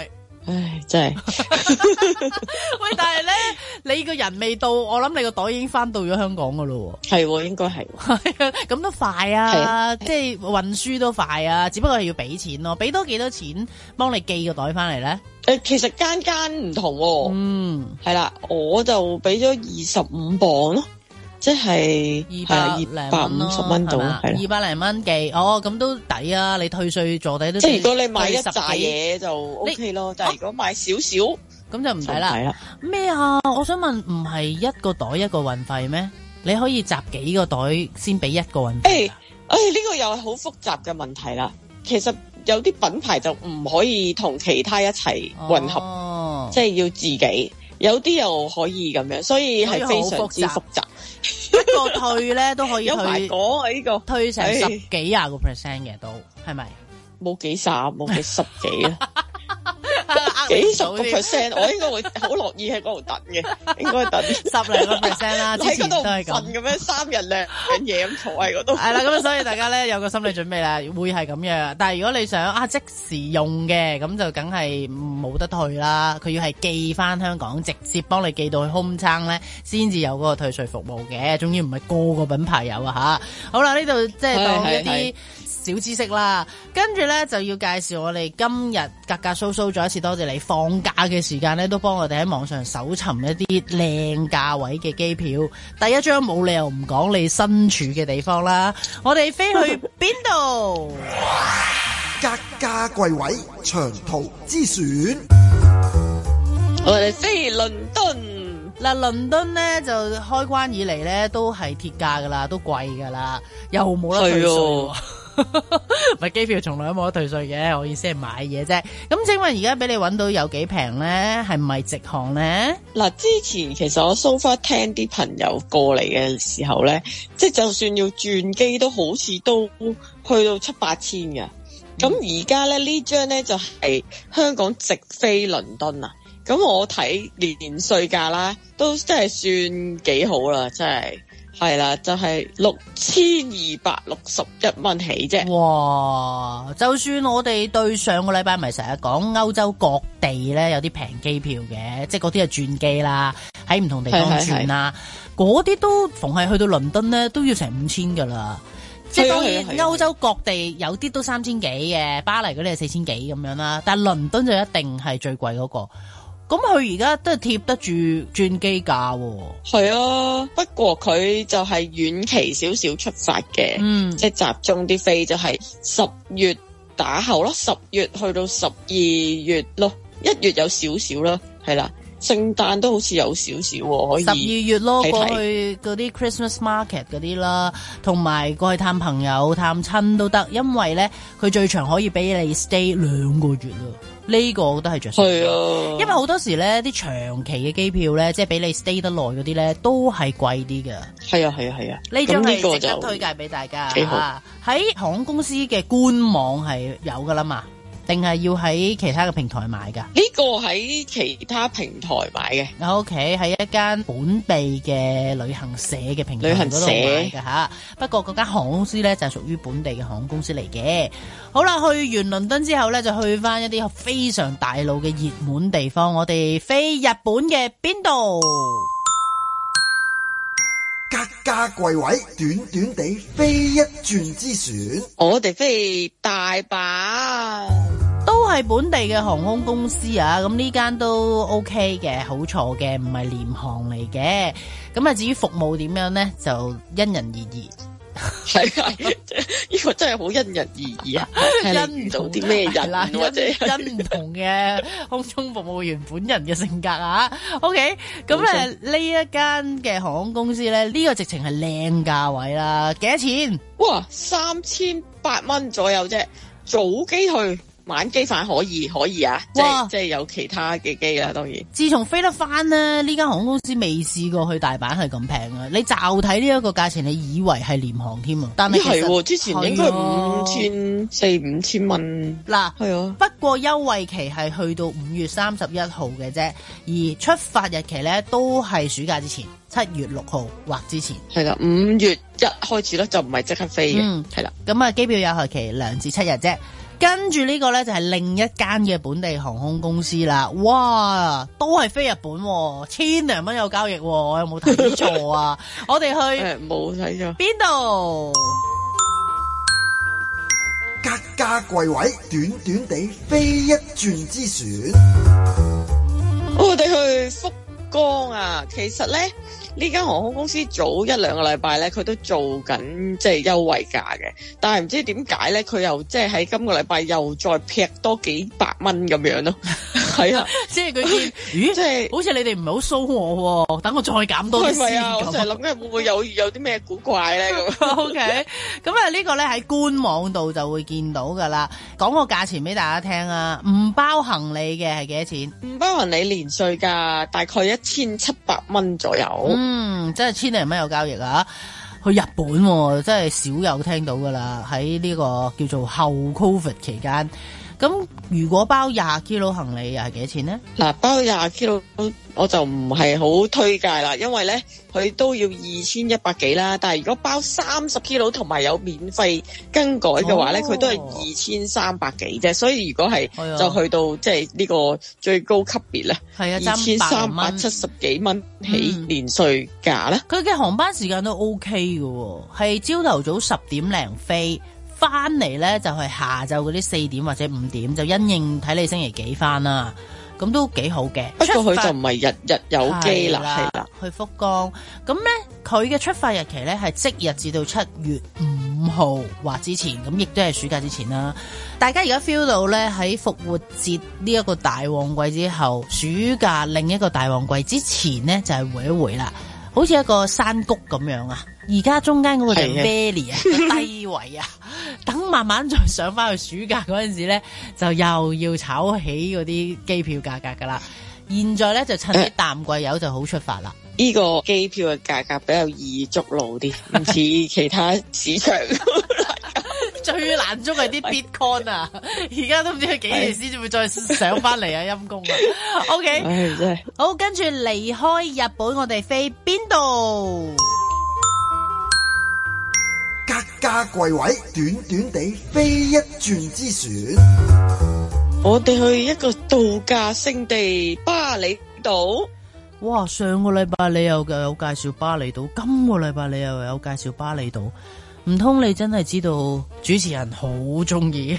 唉，真係。 喂，但係咧，你個人未到，我諗你個袋已經翻到咗香港噶咯。 係，應該係。 咁都快啊，即係運輸都快啊，只不過係要俾錢咯。俾多幾多錢幫你寄個袋翻嚟咧？ 誒，其實間間唔同喎。嗯，係啦，我就俾咗二十五磅咯。即係二百五十蚊到，係二百零蚊寄，哦，咁都抵啊！你退稅坐底都即係如果你買一紮嘢就 O K 咯，但係如果買少少咁就唔抵啦。咩啊？我想問，唔係一個袋一個運費咩？你可以集幾個袋先俾一個運費？誒誒， 呢個又係好複雜嘅問題啦。其實有啲品牌就唔可以同其他一齊混合，哦、即係要自己。有啲又可以咁樣，所以係非常之複雜。 一個退咧都可以退， 有排講啊呢個退成十幾廿個 percent 嘅都係咪？ 冇幾十，冇幾十幾啊。幾十個 percent， 我應該會好樂意喺嗰度等嘅，應該等十零個 percent 啦。喺嗰度瞓咁樣三日兩夜咁坐喺嗰度。 係啦，咁所以大家咧有個心理準備啦，會係咁樣。但係如果你想啊即時用嘅，咁就梗係冇得退啦。佢要係寄翻香港，直接幫你寄到去空倉咧，先至有嗰個退稅服務嘅。總之唔係個個品牌有啊吓。好啦，呢度即係當一啲小知識啦，跟住咧就要介紹我哋今日格格蘇蘇，再一次多謝你放假嘅時間咧，都幫我哋喺網上搜尋一啲靚價位嘅機票。第一張冇理由唔講你身處嘅地方啦，我哋飛去邊度？ 格價貴位長途之選， 我哋飛倫敦。 嗱，倫敦咧就開關以嚟咧都係鐵價噶啦，都貴噶啦，又冇得退稅。咪機票從來都冇得退稅嘅，我意思係買嘢啫。咁請問而家俾你揾到有幾平咧？係唔係直航咧？嗱， 之前其實我 so far 聽啲朋友過嚟嘅時候咧，即係就算要轉機都好似都去到七八千嘅。咁而家咧呢張咧就係香港直飛倫敦啊！咁我睇年稅價啦，都真係算幾好啦，真係。係啦，就係六千二百六十一蚊起啫。 哇！就算我哋對上個禮拜咪成日講歐洲各地咧有啲平機票嘅，即係嗰啲係轉機啦，喺唔同地方轉啦，嗰啲都逢係去到倫敦咧都要成五千噶啦。即係當然歐洲各地有啲都三千幾嘅，巴黎嗰啲係四千幾咁樣啦，但係倫敦就一定係最貴嗰個。咁佢而家都係貼得住轉機價喎。 係啊，不過佢就係遠期少少出發嘅，嗯，即係集中啲飛就係十月打後咯，十月去到十二月咯，一月有少少啦，係啦，聖誕都好似有少少可以。 十二月咯，過去嗰啲 Christmas market 嗰啲啦，同埋過去探朋友探親都得，因為咧佢最長可以俾你 stay 兩個月啦。呢個我覺得係着數，係啊，因為好多時咧啲長期嘅機票咧，即係俾你 stay 得耐嗰啲咧，都係貴啲嘅。 係啊係啊係啊， 呢張係值得推介俾大家。幾好，喺航空公司嘅官網係有噶啦嘛，定係要喺其他嘅平台買噶？ 呢個喺其他平台買嘅。 O K， 喺一間本地嘅旅行社嘅平台嗰度買嘅吓。不過嗰間航空公司咧就係屬於本地嘅航空公司嚟嘅。好啦，去完倫敦之後咧，就去翻一啲非常大路嘅熱門地方。我哋飛日本嘅邊度？ 格價貴位，短短地飛一轉之選。 我哋飛大阪， 都係本地嘅航空公司啊。咁呢間都 OK 嘅，好坐嘅，唔係廉航嚟嘅。咁啊，至於服務點樣咧，就因人而異。 係啊，呢個真係好因人而異啊！因唔到啲咩人啦，或者因唔同嘅空中服務員本人嘅性格啊。OK， 咁咧呢一間嘅航空公司咧，呢、呢個直情係靚價位啦。幾多錢？ 哇，三千八蚊左右啫，早機去。晚機返可以可以啊，即係即係有其他嘅機啦，當然。 自從飛得翻咧，呢間航空公司未試過去大阪係咁平啊！你驟睇呢一個價錢，你以為係廉航添啊？但係其實係之前應該五千四五千蚊。嗱，係啊。 不過優惠期係去到五月三十一號嘅啫，而出發日期咧都係暑假之前，七月六號或之前。 係啦，五月一開始咧就唔係即刻飛嘅。嗯，係啦。 咁啊，機票有效期兩至七日啫。 跟住呢個咧就係另一間嘅本地航空公司啦，哇，都係飛日本，千零蚊有交易，我有冇睇錯啊？我哋去冇睇錯邊度？ 格價貴位，短短地飛一轉之船。 我哋去福岡啊，其實咧呢間航空公司早一兩個禮拜咧，佢都做緊即係優惠價嘅，但係唔知點解咧，佢又即係喺今個禮拜又再劈多幾百蚊咁樣咯。係啊， 即係佢見，咦，即係好似你哋唔係好騷我喎，等我再減多啲先。係咪啊？ 我就係諗緊會唔會有有啲咩古怪咧咁。 O K， 咁啊呢個咧喺官網度就會見到噶啦。講個價錢俾大家聽啊，唔包行李嘅係幾多錢？ 唔包行李連稅價大概一千七百蚊左右。 嗯，真係千零蚊有交易啊！去日本真係少有聽到噶啦，喺呢個叫做後 Covid 期間。咁如果包廿 kilo 行李又係幾多錢呢？ 嗱，包廿 kilo 我就唔係好推介啦，因為咧佢都要二千一百幾啦。但係如果包三十 kilo 同埋有免費更改嘅話咧，佢、哦、都係二千三百幾啫。所以如果係就去到即係呢個最高級別咧，係啊，二千三百七十幾蚊起連稅價咧。 佢、嗯、嘅航班時間都 OK 嘅，係朝頭早十點零飛。翻嚟咧就係下晝嗰啲四點或者五點，就因應睇你星期幾翻啦，咁都幾好嘅。 不過佢就唔係日日有機啦，係啦， 去福岡。咁咧佢嘅出發日期咧係即日至到七月五號或之前，咁亦都係暑假之前啦。大家而家 feel 到咧喺復活節呢一個大旺季之後，暑假另一個大旺季之前咧就係回一回啦，好似一個山谷咁樣啊。而家中間嗰個就 valley 啊，低位啊，等慢慢再上翻去暑假嗰陣時咧，就又要炒起嗰啲機票價格噶啦。現在咧就趁啲淡季油就好出發啦。 呢、這個機票嘅價格比較易捉路啲，唔似其他市場。 最難捉係啲 Bitcoin 啊，而家都唔知佢幾時先至會再上翻嚟啊，陰公啊。OK， 唉真係好，跟住離開日本，我哋飛邊度？ 格價貴位，短短地飛一轉之船。 我哋去一個度假勝地巴厘島。 哇！上個禮拜你又有介紹巴厘島，今個禮拜你又有介紹巴厘島，唔通你真係知道主持人好中意？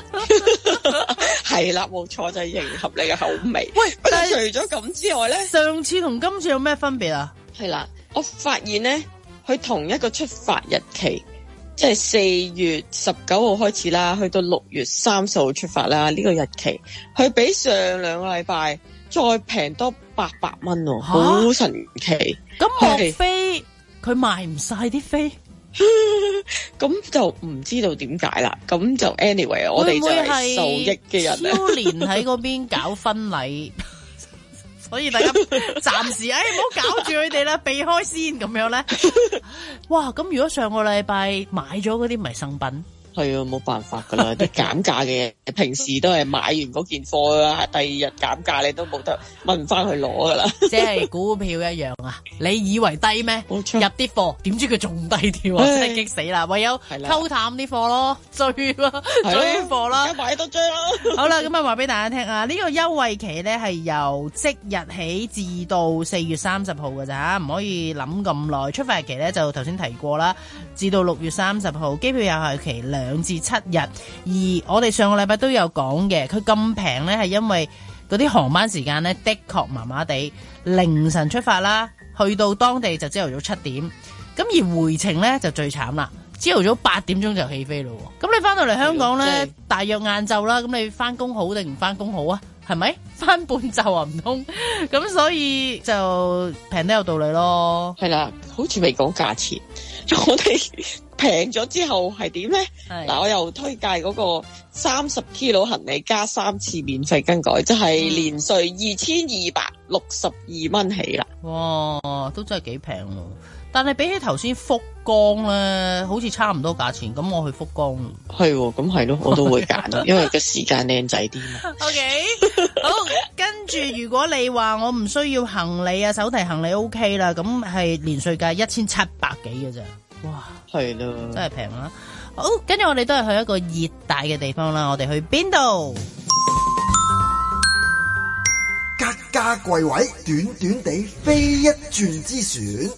係啦，冇錯，就係迎合你嘅口味。喂，但係除咗咁之外咧， 上次同今次有咩分別啊？ 係啦，我發現咧，佢同一個出發日期。即係四月十九號開始啦，去到六月三十號出發啦。呢、這個日期，佢比上兩個禮拜再平多八百蚊喎，好神奇。 咁莫非佢賣唔晒啲飛？ 咁就唔知道點解啦。咁就 anyway， 我哋就係受益嘅人咧。 超年喺嗰邊搞婚禮。所以大家暫時誒唔好搞住佢哋啦，避開先咁樣咧。哇！咁如果上個禮拜買咗嗰啲咪生品？ 係啊，冇辦法噶啦，啲減價嘅平時都係買完嗰件貨啦，第二日減價你都冇得問翻去攞噶啦。即係股票一樣啊！你以為低咩？入啲貨，點知佢仲低啲啊！真係激死啦！唯有溝淡啲貨咯，追咯，追貨啦， 而家買多追咯。 好啦，咁啊話俾大家聽啊，呢、這個優惠期咧係由即日起至到四月三十號噶咋，唔可以諗咁耐。出發日期咧就頭先提過啦，至到六月三十號，機票有效期兩至七日。而我哋上個禮拜都有講嘅，佢咁平咧係因為嗰啲航班時間咧的確麻麻地，凌晨出發啦，去到當地就朝頭早七點，咁而回程咧就最慘啦，朝頭早八點鐘就起飛咯。咁你翻到嚟香港咧，大約晏晝啦，咁你翻工好定唔翻工好啊？係咪翻半晝啊？唔通咁，所以就平得有道理咯。 係啦，好似未講價錢，我哋平咗之後係點咧？嗱，我又推介嗰個三十 kilo 行李加三次免費更改，即係連稅二千二百六十二蚊起啦。 哇，都真係幾平喎！但係比起頭先福岡咧，好似差唔多價錢。咁我去福岡， 係喎，咁係咯，我都會揀，因為個時間靚仔啲嘛。 OK，好，跟住如果你話我唔需要行李啊，手提行李 OK 啦，咁係連稅價一千七百幾嘅啫。哇， 係咯， 真係平啦。 好，跟住我哋都係去一個熱帶嘅地方啦。我哋去邊度？ 格價貴位，短短地飛一轉之選。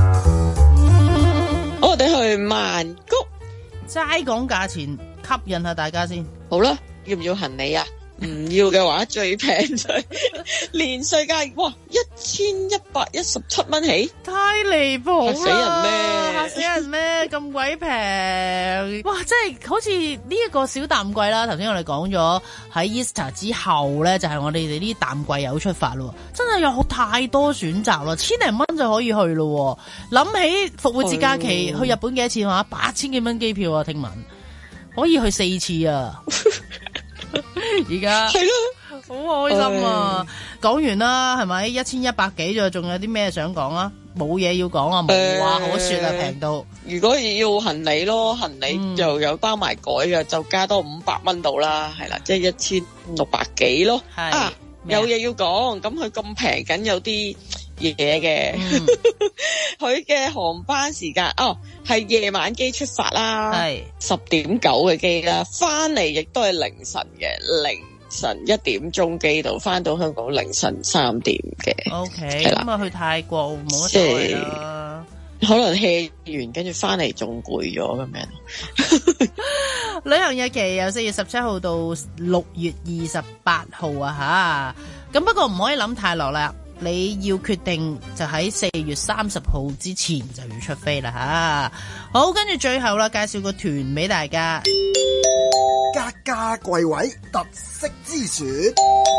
我哋去曼谷， 齋講價錢吸引下大家先。 好啦，要唔要行李啊？唔要嘅話，最平就係連稅價，哇，一千一百一十七蚊起， 太離譜啦！ 嚇死人咩？ 嚇死人咩？咁鬼平！哇，即係好似呢一個小淡季啦。頭先我哋講咗喺 Easter 之後咧，就係、是、我哋哋呢啲淡季有出發咯。真係有好太多選擇咯，千零蚊就可以去咯。諗起復活節假期去日本幾多錢話？八千幾蚊機票啊，聽聞可以去四次啊！而家係咯，好開心啊！講完啦，係咪一千一百幾咗？仲有啲咩想講啊？冇嘢要講啊，冇話可說啊，平到。 如果要行李咯，行李就有包埋改嘅，就加多五百蚊到啦，係啦，即係一千六百幾咯。係啊，有嘢要講，咁佢咁平緊有啲嘢嘅，佢嘅、嗯、航班時間哦係夜晚機出發啦，係十點九嘅機啦，翻嚟亦都係凌晨嘅，凌晨一點鐘機度，翻到香港凌晨三點嘅。O K， 咁啊去泰國冇乜所謂啦， 可能 hea 完跟住翻嚟仲攰咗咁樣。 旅行日期由四月十七號到六月二十八號啊吓，咁不過唔可以諗太落啦。你要決定就喺四月三十號之前就要出飛啦吓。好，跟住最後啦，介紹個團俾大家。 格價貴位特色之選，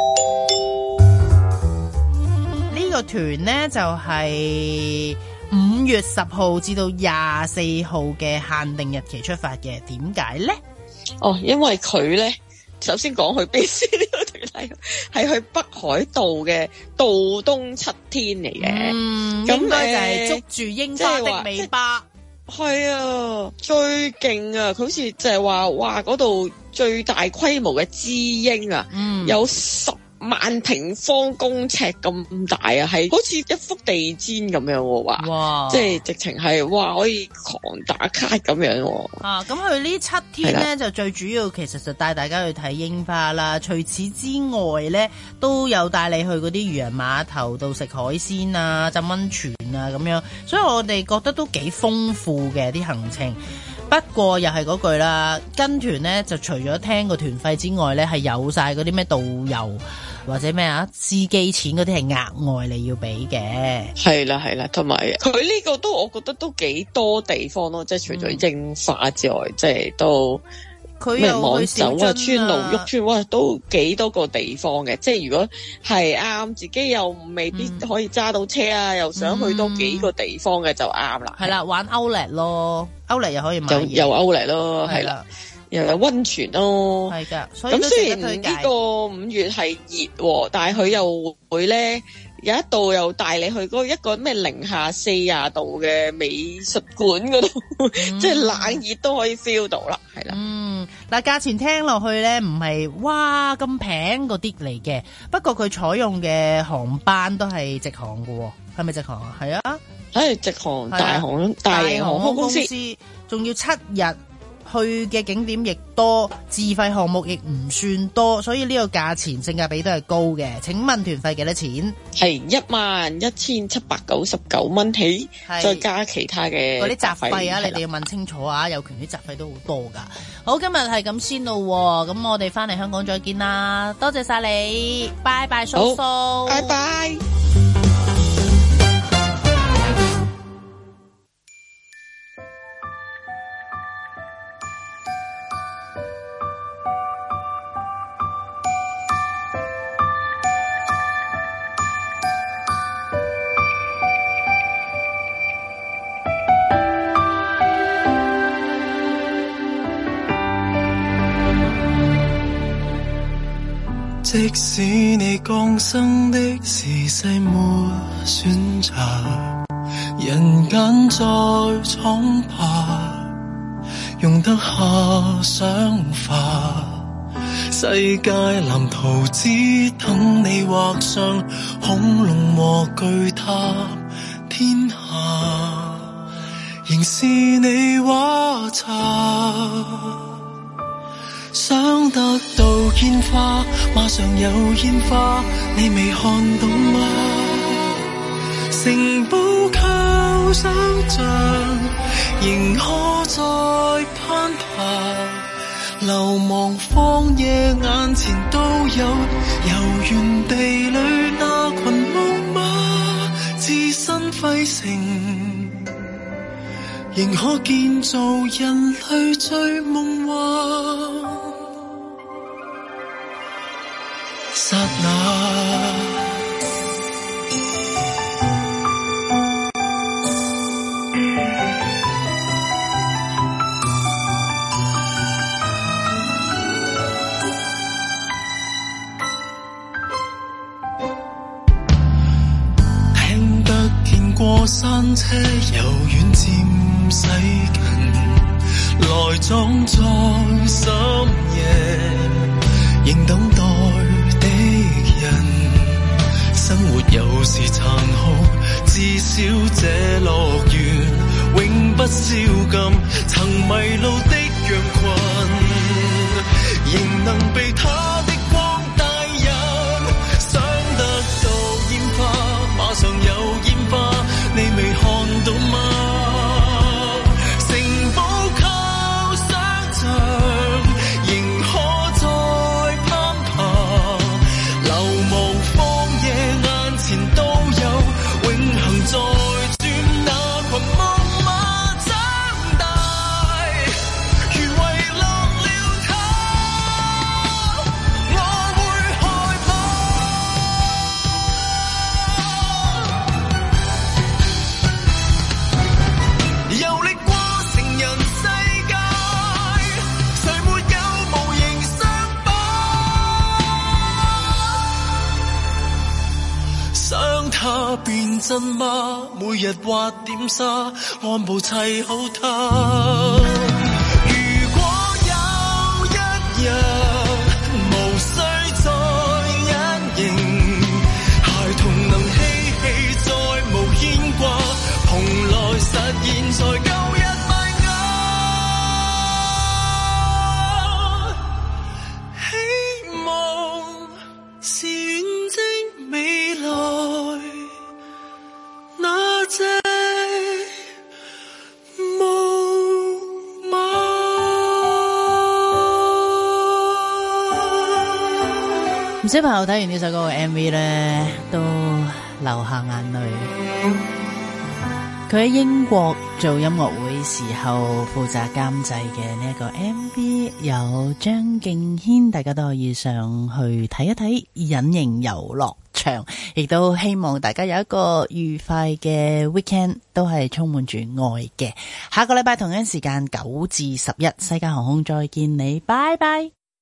呢個團呢，就係五月十號至到廿四號嘅限定日期出發嘅。點解呢？ 哦，因為佢咧。首先講去邊先，呢個團係係去北海道嘅道東七天嚟嘅， 嗯，咁應該就係捉住櫻花的尾巴。 係啊，最勁啊！佢好似就係話，哇，嗰度最大規模嘅知櫻啊，嗯，有十萬平方公尺咁大啊，係好似一幅地氈咁樣喎，話，哇，即係直情係哇可以狂打卡咁樣喎。啊， 咁佢呢七天咧就最主要其實就帶大家去睇櫻花啦。除此之外咧，都有帶你去嗰啲漁人碼頭度食海鮮啊、浸溫泉啊咁樣，所以我哋覺得都幾豐富嘅啲行程。不過又係嗰句啦，跟團咧就除咗聽個團費之外咧，係有晒嗰啲咩導遊或者咩啊司機錢嗰啲係額外你要俾嘅。 係啦係啦，同埋佢呢個都我覺得都幾多地方咯，即係除咗櫻花之外，嗯、即係都咩網走啊、川路旭川，哇，都幾多個地方嘅。即係如果係啱自己又未必可以揸到車啊，嗯、又想去多幾個地方嘅就啱啦。係啦， 玩 Outlet 咯 ，Outlet 又可以買嘢， 又 Outlet 咯，係啦。又有溫泉咯， 係噶。 咁雖然呢個五月係熱，但係佢又會咧有一度又帶你去嗰一個咩零下四十度嘅美術館嗰度，嗯、即係冷熱都可以 feel 到啦，係啦。 嗯，嗱，價錢聽落去咧唔係哇咁平嗰啲嚟嘅，不過佢採用嘅航班都係直航嘅，係咪直航啊？係啊， 係直航大航大型航空公司， 仲要七日。去嘅景點亦多，自費項目亦唔算多，所以呢個價錢性價比都係高嘅。請問團費幾多錢？ 係一萬一千七百九十九蚊起，再加其他嘅嗰啲雜費啊！你哋要問清楚啊，有權啲雜費都好多噶。好，今日係咁先咯，咁我哋翻嚟香港再見啦，多謝晒你，拜拜，叔叔， 拜拜。 即使你降生的時勢沒選擇，人間再闖吧，容得下想法。世界藍圖只等你畫上，恐龍和巨塔天下。 仍是你畫冊，想得到煙花，馬上有煙花，你未看懂嗎？城堡靠想像，仍可再攀爬，流亡荒野眼前都有，遊園地裡那群木馬，置身廢城，仍可建造人類最夢幻剎那。過山車由遠漸駛近，來裝在深夜，仍等待的人。生活有時殘酷，至少這樂園永不宵禁。曾迷路的羊群，仍能被他的光帶引。想得到煙花，馬上有煙花。你未看到嗎？城堡靠想像，仍可再攀爬，流亡荒野眼前都有，永恆在轉那群木馬長大，如遺落了他，我會害遊歷過成人世界，誰沒有無形傷疤？想他變真嗎？每日畫點沙，按部砌好它。如果有一日無需再隱形，孩童能嬉戲再無牽掛，蓬萊實現才夠一萬個希望，是遠征未來那隻木馬。 唔少朋友睇完呢首歌嘅 M V 咧，都流下眼淚。佢喺英國做音樂會時候負責監製嘅呢一個 M V 有張敬軒，大家都可以上去睇一睇隱形遊樂場，亦都希望大家有一個愉快嘅 weekend， 都係充滿住愛嘅。下個禮拜同樣時間九至十一，西加航空再見你，拜拜。